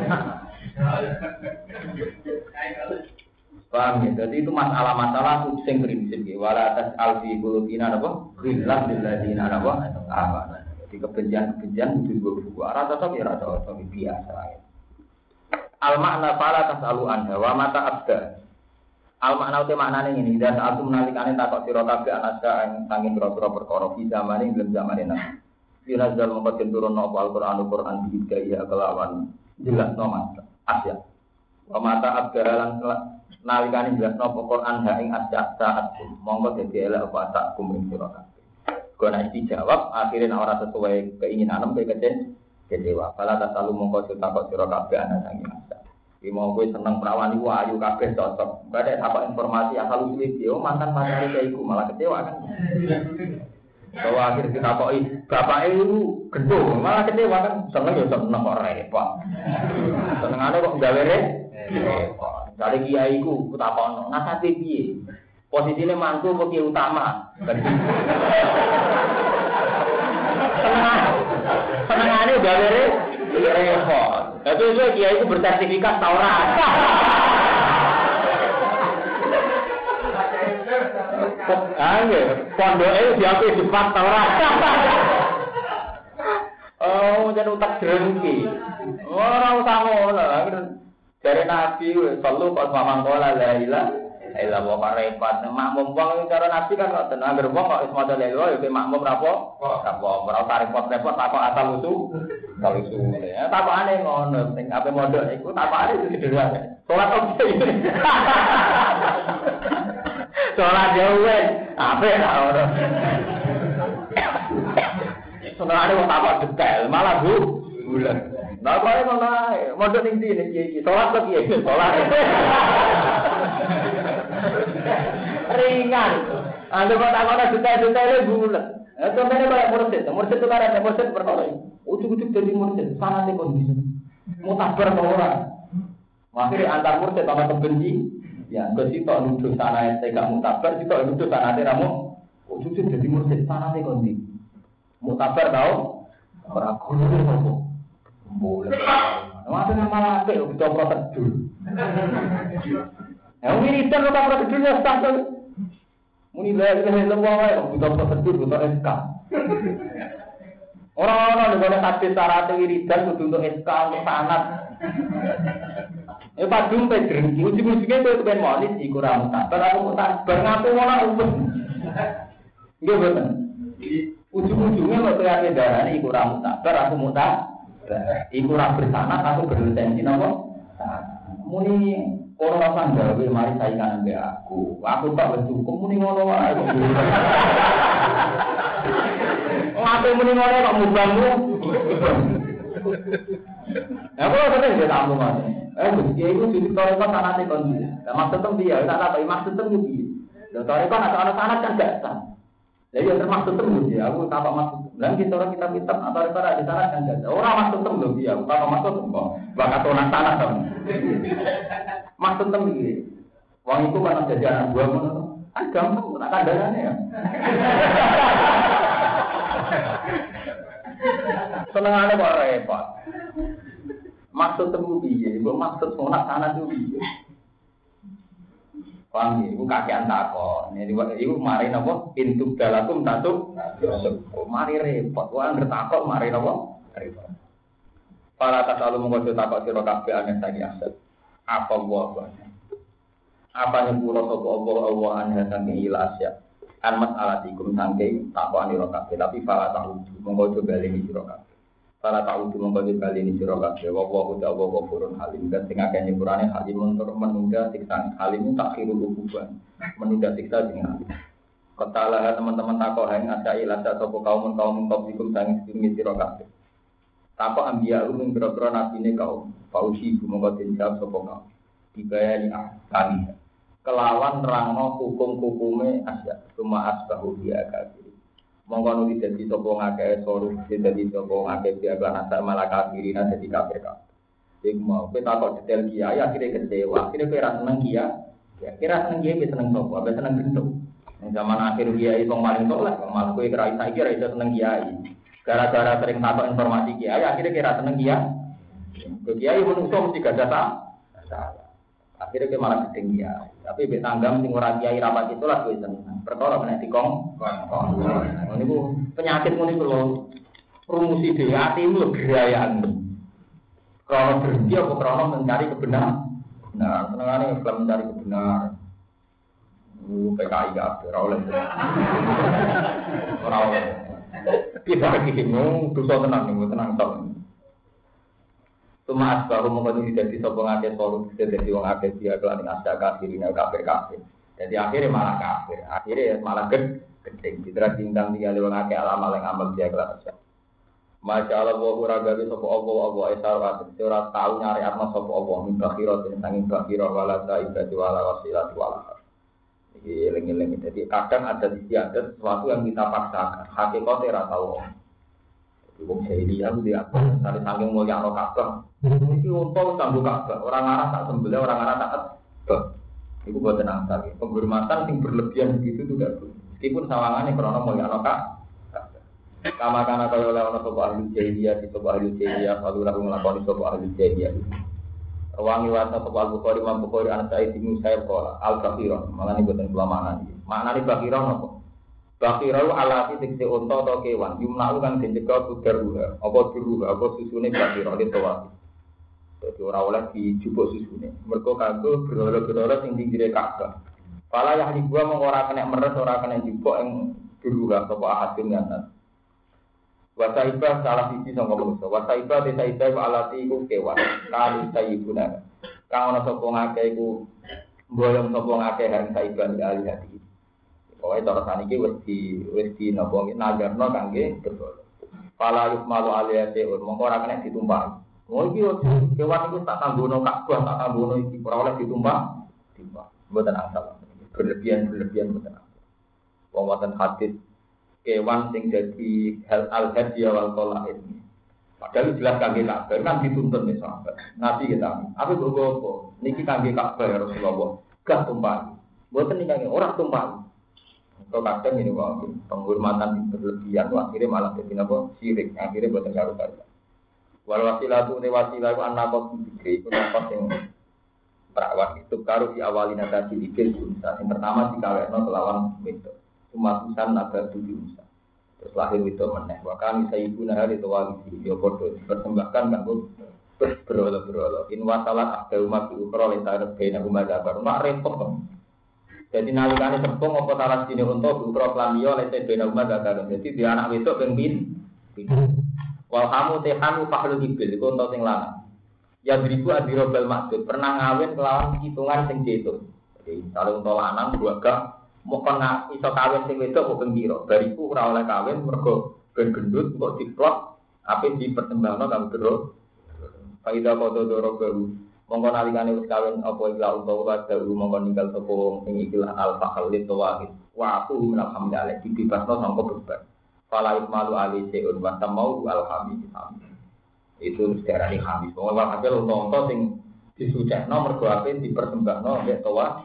Paham ya? Jadi itu masalah-masalah sing prinsip ya. Wala atas alfi qulubina apa? Ghillan lil ladzina apa? Apa. Jadi kebencian-kebencian itu juga buku arah cocok ya rasa cocok biasa ya. Al makna fala tasalu anha wa mata abda. Al makna uti maknane ngene, ida saat menalikane takok sira kabeh anaska ing sanging pira-pira perkara fi zamane ing zamane nang. Dinazal mongko turun apa Al-Qur'an Al-Qur'an diidai kelawan jelas no mas. Asia. Wa mata abdalan nalikane jelasno Quran ha ing Asia saat monggo dadi elek apa tak kuming sira kabeh. Kok nek dijawab akhirnya ora sesuai keinginan kowe kece kecewa. Fala tasalu monggo takok sira kabeh ana sangi Asia. Iki mau kowe seneng perawan iku ayu kabeh cocok. Badhe apa informasi asal usul iki mantan pacare iku malah kecewa kan. Bahwa akhir kita koi bapak itu gendong malah kecewa kan seneng ya seneng kok repot senengane kok gawe repot dari kiai ku kutakono nasate piye posisine mantu apa kiai utama seneng senengane gawe repot tapi itu kiai ku bersertifikat ta ora Angge, pondoke diape depan ta ora. Oh, jan utak drengki. Ora usah ngono. Jare Nabi wis perlu pas mamangkola la ilaha illallah wa repot. Makmum wong cara Nabi kan kok tenan anggere wong kok wis maca la ilaha ya makmum rapo? Rapo, ora usah repot-repot takok asal usul. Asal usul. Ya takokane ngono, sing ape mondok iku takokane sederhana. Salat opo iki? Salat dhewe, apik ta ora. Senengane wong takok detail, malah Bu bulan. Lah kok ngono ae, mondok ning ndi nek iki salat kok piye? Salat. Ringan. Anda kok takok detail-detail bulan. Eh contohnya kayak mursid, mursid itu kan ada mursid perkara. Ujuk-ujuk jadi mursid, sanate kondisi. Mutabar ta ora? Akhirnya antar mursid sama kebenci. Ya, kok sitok nuduh sanate gak mutabar, sitok nuduh sanate ramu. Kok jujur jadi mursid sanate kondi. Mutabar tau? Ora kudu kok. Boleh. Mate malah apik kok coba tedur. Ya wiridan kok ora tedur ya sak. Muni la ilaha illallah wae kok coba tedur kok S K. Ora-ora nek ana hadis syarat wiridan kudu untuk S K untuk sanad. Eh padung pe drengki ujug-ujuge kowe kepen monis iku ra mutabar aku mutabar ngaku ngono umum. Nggih boten. Ujug-ujuge kok kaya darane iku ra mutabar aku mutabar. Iku ra bersanad aku berlisensi napa? Muni ora usah gawe mari saingan ambek aku. Aku tak wis cukup muni ngono wae. Ngape muni ngono kok mubangmu? Ya kok sering dia tamu Mas. Eh mesti iku ditore kok sanate kon. Lah maksud tem piye? Tak tak maksud tem piye? Lho tore kok ana sanat kan gak sah. Lah ya termaksud tem piye? Aku tak maksud. Lah kita orang kita pinter atau ora di sanat kan gak. Ora maksud tem lho piye? Aku tak maksud kok. Bakat orang sanat to. Maksud tem piye? Wong iku kan jadi anak buah ngono. Kan gampang tak kandhane ya. Senengane kok repot. Maksud temu piye? Mbok maksud sunat sanad itu piye? Paham ya? Iku kakean takon. Iku mari napa? Intuk dalakum tatuk. Mari repot. Wong anggere takon mari napa? Repot. Para tasalu monggo takok sira kabeh aneh saiki aset. Apa wae? Apa nyepuro sapa Allah Allah aneh saking ilasya. An mas'alatikum saking takokane sira kabeh tapi para tahu monggo coba lini sira kabeh. Para tahu monggo coba lini sira kabeh. Wa wa uta wa ghafurun halim dan sing akeh nyepurane halim untuk menunda siksa halim takhirul uquban. Menunda siksa dengan ketalah teman-teman takok hang ada ilasya sapa kaum kaum kaum saking sedurunge sira kabeh. Takok ambiya umum boro-boro nabine kaum. Pausi monggo dijawab sapa kaum. Dibayani kami kelawan nerangno hukum-hukume asya cuma asbahu dia kafir monggo nulis dadi sapa ngakeh soru dadi sapa ngakeh dia lan asal malah kafirin dadi kafir kabeh iku mau kowe takok detail kiai akhire kecewa akhire kowe ra seneng kiai ya kira seneng kiai seneng sapa ape seneng bentuk ning zaman akhir kiai wong paling saleh malah kowe kira saiki ra iso seneng kiai gara-gara sering takok informasi kiai akhire kira seneng kiai kiai menungso mesti gak ada salah akhirnya ke malah gedeng ya, tapi be tanggam sing ora kiai rapat itu lah kowe seneng. Perkara nek dikong. Ngene ku penyakit ngene ku lho. Rumusi dhewe atimu lho gerayan. Krono berhenti apa krono mencari kebenaran. Nah, senengane Islam mencari kebenaran. Lu P K I gak ora oleh. Ora oleh. Kita iki bingung dosa tenang ning tenang tok. Cuma asbaru mengkono dadi sapa ngake soru dadi wong akeh dia kelan asda kafirin kafir kafir. Jadi akhirnya malah kafir. Akhirnya malah ged gedeng ditra tingkang tinggal wong akeh alam yang amal dia kelan asda. Masya Allah wa ragawi sapa Allah Allah isarat ora tau nyari atma sapa Allah min bakhira den sanging bakhira wala saibati wala wasilati wala. Iki eling-eling dadi kadang ada sisi ada sesuatu yang kita paksakan. Hakikate ora tau. Wong jahiliyah ku dia apa? Sare saking mulya ana Ka'bah. Iki unta kanggo Ka'bah, orang arah tak sembelih, orang arah tak Ka'bah. Iku boten angsal. Penghormatan sing berlebihan begitu itu tidak boleh. Meskipun sawangane krana mulya ana Ka'bah. Kama kana kaya oleh ana sapa ahli jahiliyah, sapa ahli jahiliyah, lalu lalu nglakoni sapa ahli jahiliyah. Wangi wasa sapa Al-Bukhari, Imam Bukhari ana Sa'id bin Musayyib qala al-Baqiron, malane boten kula maknani. Maknane Baqiron apa? Bakirau alati tikse unta atau kewan, yumna'u kang dijaga budaruha, apa duruha, apa susune bakirau ditawati. Jadi ora oleh dijupuk susune. Mergo kanggo berhala-berhala sing pinggire Ka'bah. Pala yahli gua mung ora kena meres, ora kena jupuk ing duruha sapa ahadun ngaten. Wasaibah salah siji sangka manusa. Wasaibah desaibah alati iku kewan, kali sayibuna. Kang ana sapa ngake iku mboyong sapa ngake hang saibah ali hati. Pokoke cara saniki wis di wis di napa nagarno kangge berhala. Fala yukmalu aliyate mongko ora kena ditumpah. Oh iki kewan iku tak tanggono Ka'bah, tak tanggono iki ora oleh ditumpah. Timbang. Mboten asal. Berlebihan-berlebihan mboten asal. Wong wonten hadis kewan sing dadi hal al-hadiya wal qalaid. Padahal jelas kangge Ka'bah kan dituntut nih sahabat. Nabi kita. Apa kok apa? Niki kangge Ka'bah ya Rasulullah. Gak tumpah. Mboten niki ora tumpah. Kalau kadang ini kok penghormatan berlebihan, akhirnya malah jadi apa syirik, akhirnya buatan karu-karuan. Walau wasilah itu, wasilah itu anak kos diberi, itu nafas yang perawat itu karu di awalina tadi diberi unsa. Yang pertama di kawetno kelawan itu, cuma usan naga tujuh unsa. Terus lahir itu meneh. Bahkan bisa ibu nahar itu wali di Yokodo dipersembahkan nggak bu berolo-berolo. In wasalat ada umat diukur oleh tarik bina umat dabar, mak repot kan. Jadi nalikane sepung apa salah sini untuk ukra planiyo lese bena umat gak. Jadi dia anak wedok ping pin. Wal hamu tehanu fahlu ibil iku untuk sing lanang. Ya beriku adirobal maksud pernah ngawin kelawan hitungan sing diitung. Jadi kalau untuk lanang dua gak mau kena iso kawin sing wedok kok ping pira. Bariku ora oleh kawin mergo ben gendut kok diplot ape dipertembangno kang bro. Faida kodo doro baru. Mongko nalikane wis kawin apa ila utawa dalu mongko ninggal sapa wong sing ikilah al-fahal litawahid wa aku alhamdulillah dibebasno sangka beban fala ikmalu ali seun wa tamau alhamid itu sejarah khamis wong hasil unta sing disucekno mergo ape dipersembahno nek tawa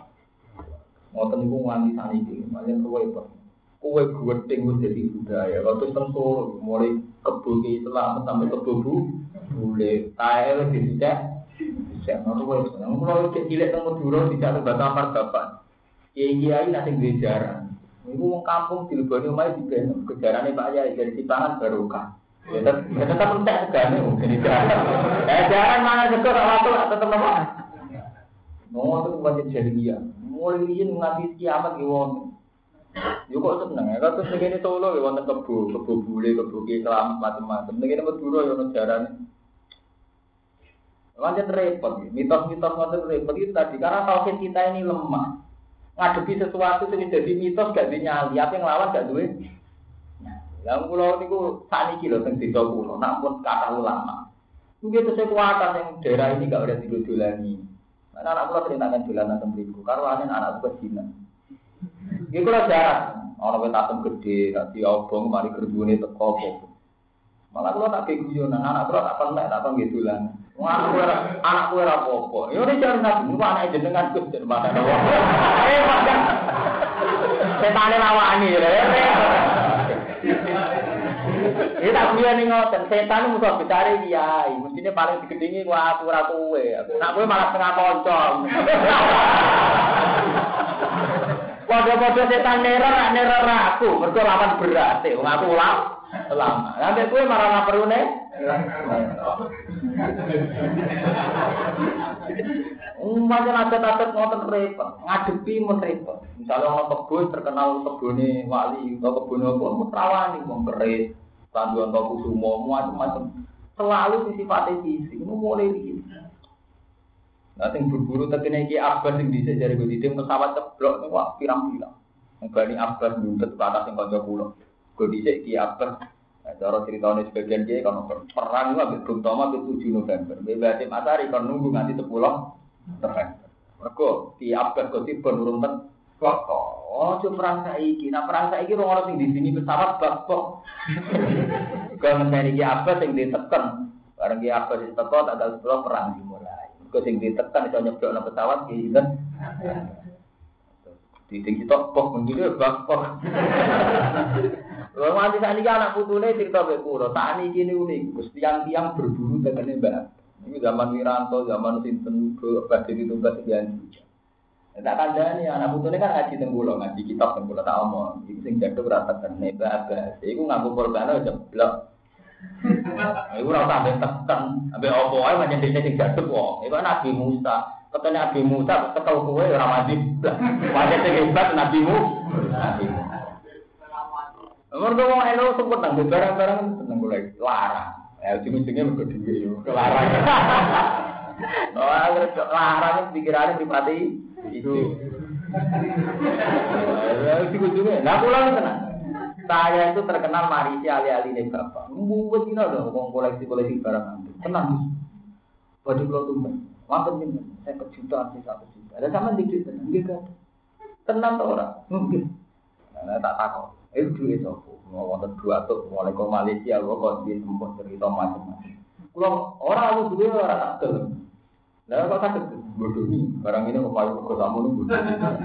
ngoten niku nganti saniki paling kowe kok kowe gedeng wis dadi budaya waktu tentu mulai kebuki Islam sampai kebubu boleh tae wis disucek. Saya mau buat, kalau cilik temu dulu tidak terbatas martabat. Kiai-kiai nanti gejaran. Ibu mau kampung di Lebani umai di Beno. Gejarannya Pak Yai dari Sipangan barokah. Ya tetap entek segane mungkin jaran. Eh jaran mana sekor waktu tetap apa? Mau tuh buat jahiliyah. Mulai ini nganti kiamat gimana? Yo kok seneng ya. Kalau segini Solo ya wonten kebo, kebo bule, kebo kelam macam-macam. Segini Madura ya ono jaran. Lanjut repot, mitos-mitos lanjut repot itu tadi karena tauhid kita ini lemah. Ngadepi sesuatu yang jadi mitos gak dinyali, apa yang lawan gak duwe. Nah, yang pulau niku sakniki lho teng desa kula, nampun kata ulama. Mungkin itu kekuatan yang daerah ini gak ada didolani. Karena anak kula sering tangan dolanan teng mriku, karo anen anak kula Cina. Iki kula jarang, ana wit atem gedhe, dadi obong mari gerbune teko apa. Malah kula tak guyonan, anak kula tak pentek tak nggih dolanan. Wah, aku ora anakku ora apa-apa. Ya ora jan nabi, niku anake jenengan Gus jan mana. Eh, padahal setane lawani ya. Iki tak kuyane ngoten, setan musuh becare kiai, mestine paling digedhingi ku aku ora kowe. Nek kowe malah setengah kanca. Padha-padha setan neror, neror aku, mergo lawan berat, wong aku ulama. Lama. Nanti kowe malah ngaperune. Umpamane adat-adat ngoten repot, ngadepi mun repot. Misale ana kebun terkenal kebune wali utawa kebune apa, rawani wong keris, tanduan toko kusumo, macam-macam. Selalu sisi sifatnya fisik, itu mulai iki. Nah, sing berburu tekene iki Abbas sing dhisik jare gue didim pesawat ceblok niku wah pirang-pirang. Mbani Abbas nuntut ke atas sing kanca kula. Gue dhisik iki Abbas. Nah, cara critane sebagian kiai kan perang niku ambek Bung Tomo tujuh November. Bebas Masari kon nunggu nganti sepuluh November. Mergo ki Abbas kok tiba urung ten kok. Oh, cuma perang saiki. Nah, perang saiki ora ono sing di sini pesawat bak kok. Kalau ngene iki Abbas sing diteken. Bareng ki Abbas diteko tanggal sepuluh perang dimulai. Kok sing ditekan iso nyeblokno pesawat iki kan. Diting kita pok menggile bak pok. Lha nganti sakniki anak putune cerita mek kula, sakniki niku niku tiang-tiang berburu tekene Mbak. Iki zaman Wiranto, zaman sinten badhe ditugas sekian. Tak kandhani anak putune kan ngaji teng kula, ngaji kitab teng kula tak omong. Iki sing jaduk ora tekene Mbak. Iku nganggo korban jeblok. Iku ora usah tekan, ambek opo wae pancen dene sing jaduk wong. Iku Nabi Musa. Ketene Nabi Musa ketel kowe ora mandi. Pancen sing hebat Nabi Musa. Mergo wong elo sebut nang barang-barang seneng golek larang. Ya ujung-ujungnya mergo dhewe yo larang. Oh, agar larang pikirane pribadi itu. Ya ujung-ujungnya. Lah kula tenan. Saya itu terkenal marisi ali-ali nih bapak. Mungkin kita ada ngomong koleksi-koleksi barang antik. Tenang. Baju kalau tuh, makan ini, saya kejutaan sih satu juta. Ada sama dikit tenang, gitu. Tenang tuh orang, mungkin. Nah, tak takut. Eh, duit aku. Mau nonton dua tuh, mulai ke Malaysia, gua kok di tempat cerita macam-macam. Kalau orang aku duit orang takut. Nah, kok takut? Bodoh nih. Barang ini mau pakai ke kamu nih bodoh.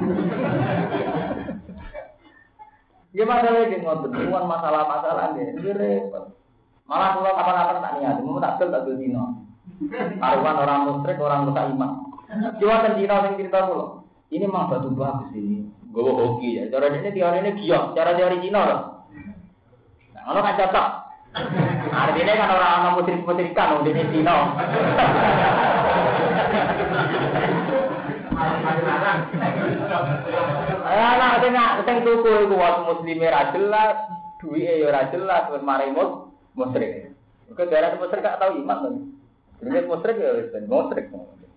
Ya masalah ini ngotot, bukan masalah-masalah ini, ini repot. Malah kalau kapan-kapan tak niat, mau tak kel tak kel dino. Taruhan orang musyrik, orang luka iman. Cuma kan dino yang cerita dulu. Ini memang batu bagus ini, gue hoki ya. Cara ini teori ini giok, cara teori Cina loh. Nah, kalau kan cocok. Artinya kan orang-orang musyrik-musyrikan, udah ini Cina. Anak tengah teng tuku iku wong muslime ra jelas, duwike ya ora jelas, wis mari mus musyrik. Kok darah musyrik gak tau iman to. Jenenge musyrik ya wis ben musyrik.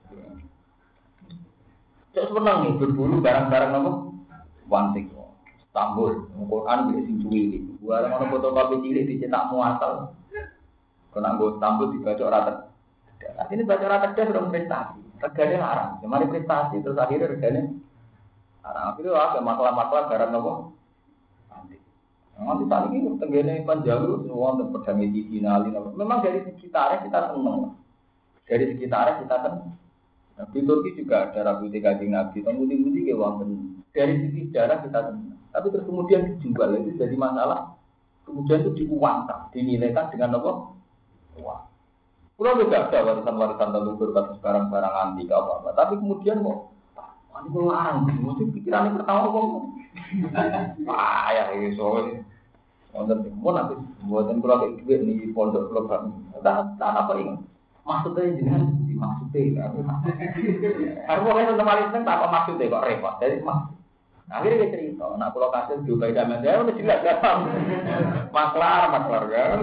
Cek seneng nih berburu barang-barang nopo? Wantik. Istanbul, Quran iki sing cuwili. Gua ana fotokopi cilik dicetak muasal. Kena nggo Istanbul dibaca ora tegas. Artinya baca ora tegas ora prestasi. Regane larang. Mari prestasi terus akhirnya regane larang. Itu ada masalah-masalah barang nopo? Nanti. Nanti tadi ini tenggene panjalu semua untuk pedang medicinal. Memang dari sekitarnya kita senang. Dari sekitarnya kita senang. Nah, di Turki juga ada rambut Kanjeng Nabi, putih-putih ke wonten. Dari sisi sejarah kita senang. Tapi terus kemudian dijual itu jadi masalah. Kemudian itu diuangkan, dinilaikan dengan apa? Uang. Pulau juga ada warisan-warisan leluhur kasus barang-barang antik apa-apa. Tapi kemudian kok, wah ini kok larang. Mesti pikirannya pertama kok. Wah ya ini soalnya. Wonten pun nanti buatan pulau kayak duit nih pondok pulau kami. Tak apa ini? Maksudnya jangan dimaksudnya. Harus boleh untuk paling seneng tak apa maksudnya kok repot. Jadi maksud. Akhirnya dia cerita, nak pulau kasih juga tidak ada, udah jelas kan? Maklar, maklar kan?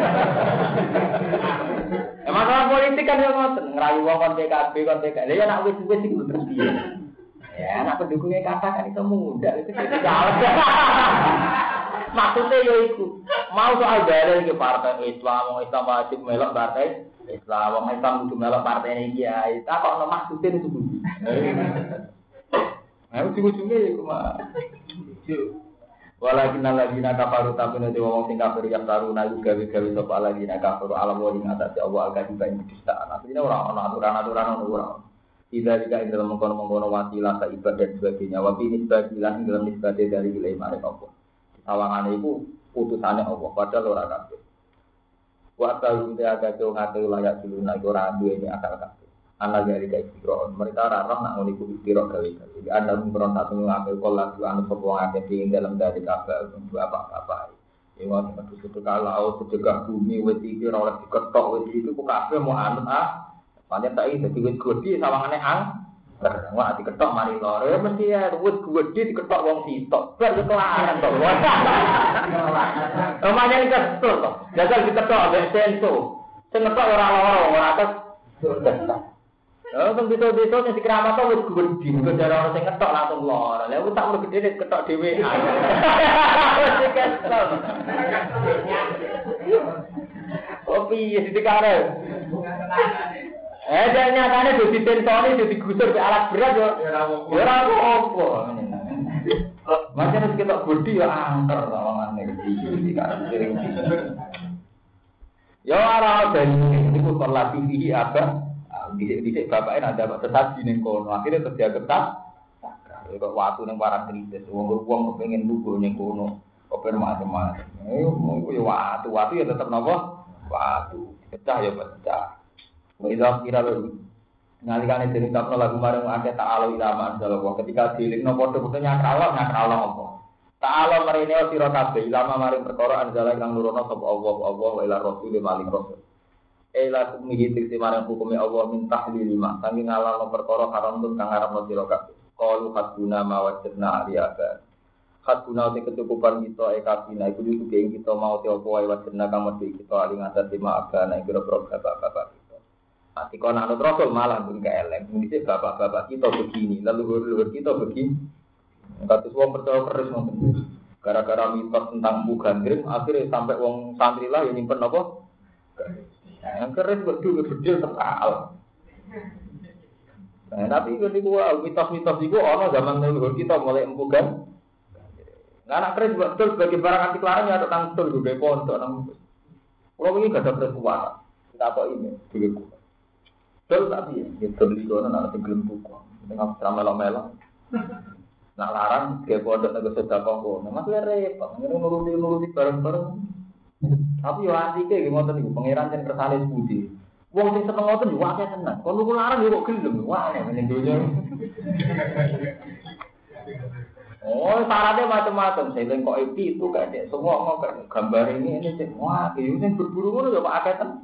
Eh, masalah politik kan yang ngotot, ngerayu wong P K B, kon P K B, ya nak wis wis itu terus dia. Ya, nak pendukungnya katakan itu mudah, itu jadi salah. Maksudnya ya itu, mau soal dalil ke partai Islam, mau Islam wajib melok partai Islam, mau Islam untuk melok partai ini ya, tak kok maksudnya itu dulu. Nah, ujung-ujungnya ya cuma walakin alladzina kafaru tapi nanti wong sing kafir yang taruna gawe-gawe sapa alladzina kafaru alam wa ing atase Allah al-kadiba ing kedustaan. Artinya ora ana aturan-aturan ora. Tidak juga ing dalam mengkono-mengkono wasilah ka ibadah dan sebagainya. Wa bi nisbatilah ing dalam nisbate dari wilayah marek apa. Sawangane iku putusane Allah padahal ora kabeh. Wa ta'ala te agake ngate layak diluna iku ora duweni akal kabeh. Anak dari kayak istirahat, mereka rarah nak nguliku istirahat kali kali. Jadi anda memberi satu mengambil kolak dua anu sebuah agen di dalam dari kabel untuk apa apa. Ini waktu itu ketika laut sejegah bumi weti kira oleh diketok weti itu kok kabel mau anut ah. Banyak tak ini jadi wet gede sawangannya ang. Wah diketok mari lor, ya mesti ya wet gede diketok wong sitok. Ber kelaran toh. Namanya ini kesel toh. Jagal diketok abis senso. Sing ngetok ora lara, ora atus. Oh, kan bisa-bisa sing dikeramat kok wis gedhi, kok jare ora sing ngetok langsung lara. Lah wis tak mung gedhe ketok dhewean. Wis kesel. Oh piye ditikare? Eh, dan nyatanya udah ditensoni, udah digusur ke alat berat yo. Ya ora apa-apa. Macam harus kita bodi ya angker lawangannya gede kan sering. Ya ora dari niku kelas tinggi apa? Dhisik-dhisik bapaknya ada tetap di ning kono. Akhirnya kerja ketat. Kok waktu ning parang kritis wong wong kepengin lugu ning kono. Kok macam-macam. Ayo monggo ya waktu-waktu ya tetep napa? Waktu. Pecah ya pecah. Wailah kira lalu ngalikane dening tapno lagu marang akeh ta'ala ilama anzalallah ketika dilingno padha-padha nyakralo nyakralo apa ta'ala marine sira kabeh ilama maring perkara anzala kang nurono sapa Allah Allah wa ila rasul maling rasul ila kumihi tikse marang hukume Allah min tahlil lima saking ngalalo perkara haram tun kang arepno sira kabeh qalu haduna ma wajadna aliyaka haduna te kecukupan kita e kabina iku dudu ing kita mau te apa wae wajadna kang mesti kita aling atas lima agana kira bapak-bapak Ati kon anut Rasul malah pun keleng. Dhisik bapak-bapak kita begini, leluhur-leluhur kita begini. Kados wong percaya keris ngoten. Gara-gara mitos tentang Bu Gandrim, akhirnya sampai wong santri lah yang nyimpen apa? Yang keris kok duwe bedil terkal. Nah, tapi niku mitos-mitos iku ana zaman leluhur kita mulai empu kan. Nah, anak keris betul sebagai barang anti larang ya tentang betul juga pondok nang. Kalau ini gak ada perkuatan. Kita apa ini? Juga betul tapi ya, gitu beli kono nak tenggelam buku, tengah ramel-ramel. Nak larang dia pondok nego sedekah kono, masih repot, ngene nuruti nuruti bareng-bareng. Tapi yo antike nggih ngoten niku pangeran jan kersane budi. Wong sing seneng ngoten yo akeh tenan. Kon niku larang yo kok gelem, wah ning donya. Oh, syaratnya macam-macam. Saya kok itu itu kayak semua mau gambar ini ini sih. Wah, ini berburu ngono yo akeh tenan.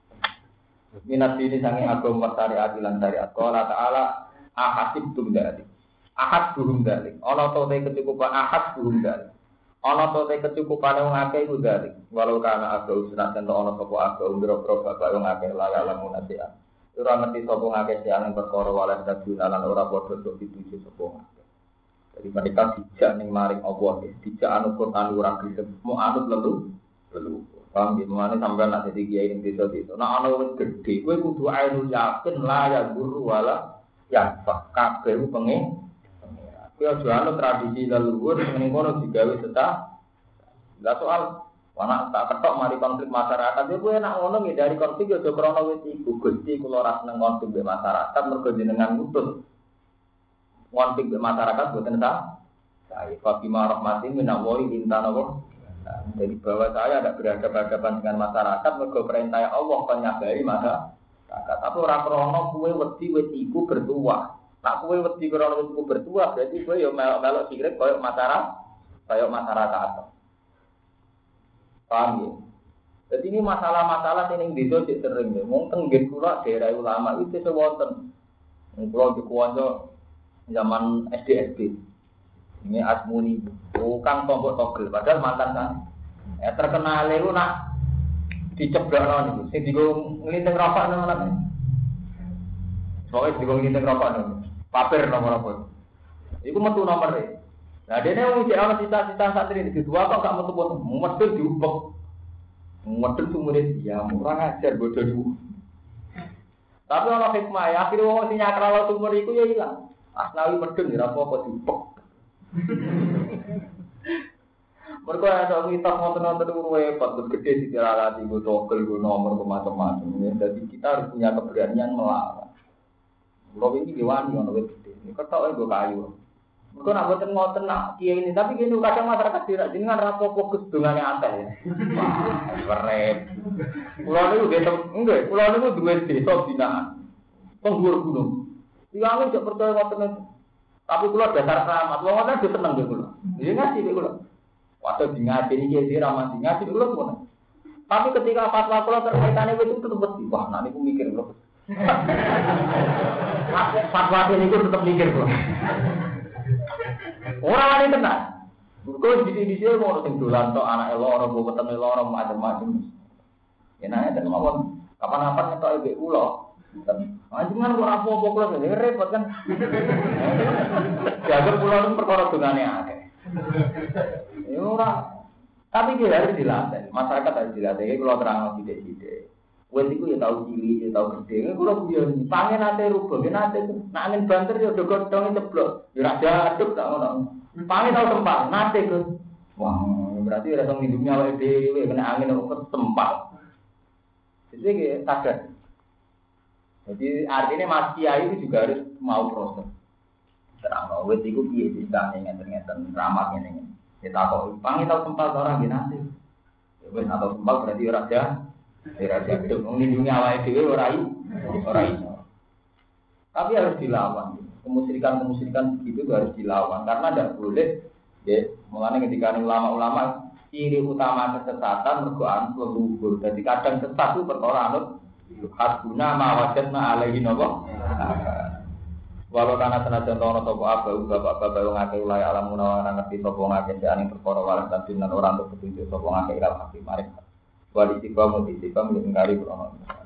Minat ini sange agama syariat lan syariat. Qala ta'ala ahasibtum dzalik. Ahad burung dzalik. Ana to te kecukupan ahad burung dzalik. Ana to te kecukupan wong akeh iku dzalik. Walau kana agau sunat ento ana sapa agau ndro-ndro bapak wong akeh la lamun nasihat. Ora ngerti sapa ngakeh siang perkara walan kaduna lan ora padha tok dituju sapa. Jadi mereka dijak ning maring Allah, dijak anu Quran ora gelem. Mau anut lelu, lelu. Paham ya, mana sampai nak jadi kiai ini desa itu. Nah, anak gede, gue kudu ainul yakin lah ya guru wala ya pak kabeh pengen. Gue jual tradisi leluhur mengenai kono digawe setah. Lah soal anak tak ketok mari konflik masyarakat, ya gue nak ngono dari konflik ya krono wis iku Gusti kula ora seneng konflik be masyarakat mergo jenengan ngutus. Konflik be masyarakat boten sah. Saya Fatimah rahmatin minallahi intanawa. Nah, jadi bahwa saya ada berhadapan-hadapan dengan masyarakat mergo perintah Allah penyabari masyarakat. Tapi ora krono kuwe wedi wis iku bertuah. Nak kuwe wedi krono wis iku bertuah berarti kowe yo melok-melok sirik koyo masyarakat, koyo masyarakat. Paham ya? Jadi ini masalah-masalah sing ning desa sik sering ya. Mung teng nggih kula daerah ulama itu sewonten. Kula dikuwanto zaman S D S D. Ini Asmuni, bukan tombok togel, padahal mantan kan. Ya terkenal itu nak diceblok non itu, sing digo ngelinting rokok nang mana? Soalnya digo ngelinting rokok nang, paper nomor apa? Iku metu nomor e. Nah dene wong cek ana cita-cita santri iki dua kok gak metu-metu, medhun diubek. Medhun sumure dia murah ajar bodoh dulu. Tapi ana hikmah ya, akhire wong sing nyakralo sumur iku ya ilang. Asnawi medhun ya apa-apa diubek. Mereka ada mitos ngotot-ngotot itu repot, bergede di tiralati, gue togel, gue nomor, gue macam-macam. Jadi kita harus punya keberanian melawan. Kalau ini diwani, orang gede. Ini ketok gue kayu. Mereka nak buatin ngotot nak kiai ini, tapi gini kadang masyarakat tidak dengan rapo fokus dengan yang aneh. Wah, keren. Pulau ini udah enggak, pulau ini udah dua desa binaan, penghulu gunung. Tiangnya tidak percaya ngotot. Tapi kula dasar keramat, wong ngoten wis seneng kula. Iki ngaji kula. Waktu di ngaji iki iki ramah di ngaji kula ngono. Tapi ketika fatwa kula terkaitane wis tetep wedi. Wah, nek niku mikir kula. Fatwa niku tetep mikir kula. Ora wani tenan. Kok didi-didi mau sing dolan tok anake loro, wetenge loro macam-macam. Enake ten mawon. Kapan-kapan ngetok ibu ulo. Anjungan kok apa-apa kula ngene repot kan. Jaga pulau itu perkara dongane akeh. Ya ora. Tapi dia harus dilatih. Masyarakat harus dilatih. Kalau terang sithik-sithik. Wes iku ya tau cilik, ya tau gede. Kula guyon pangen nate rubah, nate nek angin banter ya do godhong ceblok. Ya ora jaduk tak ngono. Pangen tau tempat, nate Gus. Wah, berarti ora tau ngidupnya awake dhewe kena angin kok tempat. Jadi kayak sadar. Jadi artinya Mas Kiai itu juga harus mau proses. Terang wes iku piye ceritane ngeten-ngeten ramah ngene. Kita kok pangen tau tempat orang nate. Ya wes atau tempat berarti ora jaduk. Tidak jatuh, melindungi awal dewi orang orang itu. Tapi harus dilawan. Kemusyrikan-kemusyrikan begitu harus dilawan karena tidak boleh. Ya, mulanya ketika ulama-ulama ciri utama kesesatan mergoan leluhur. Jadi kadang sesat itu perkara anut hasbuna ma wajadna alaihi nopo. Walau karena senajan tono topo abu bapak-bapak yang ngake ulai alam munawa ngerti topo ngake seaning perkara walas dan orang untuk petunjuk topo ngake ilal hakim. Mari. Wali tiba mau ditiba menjadi krono.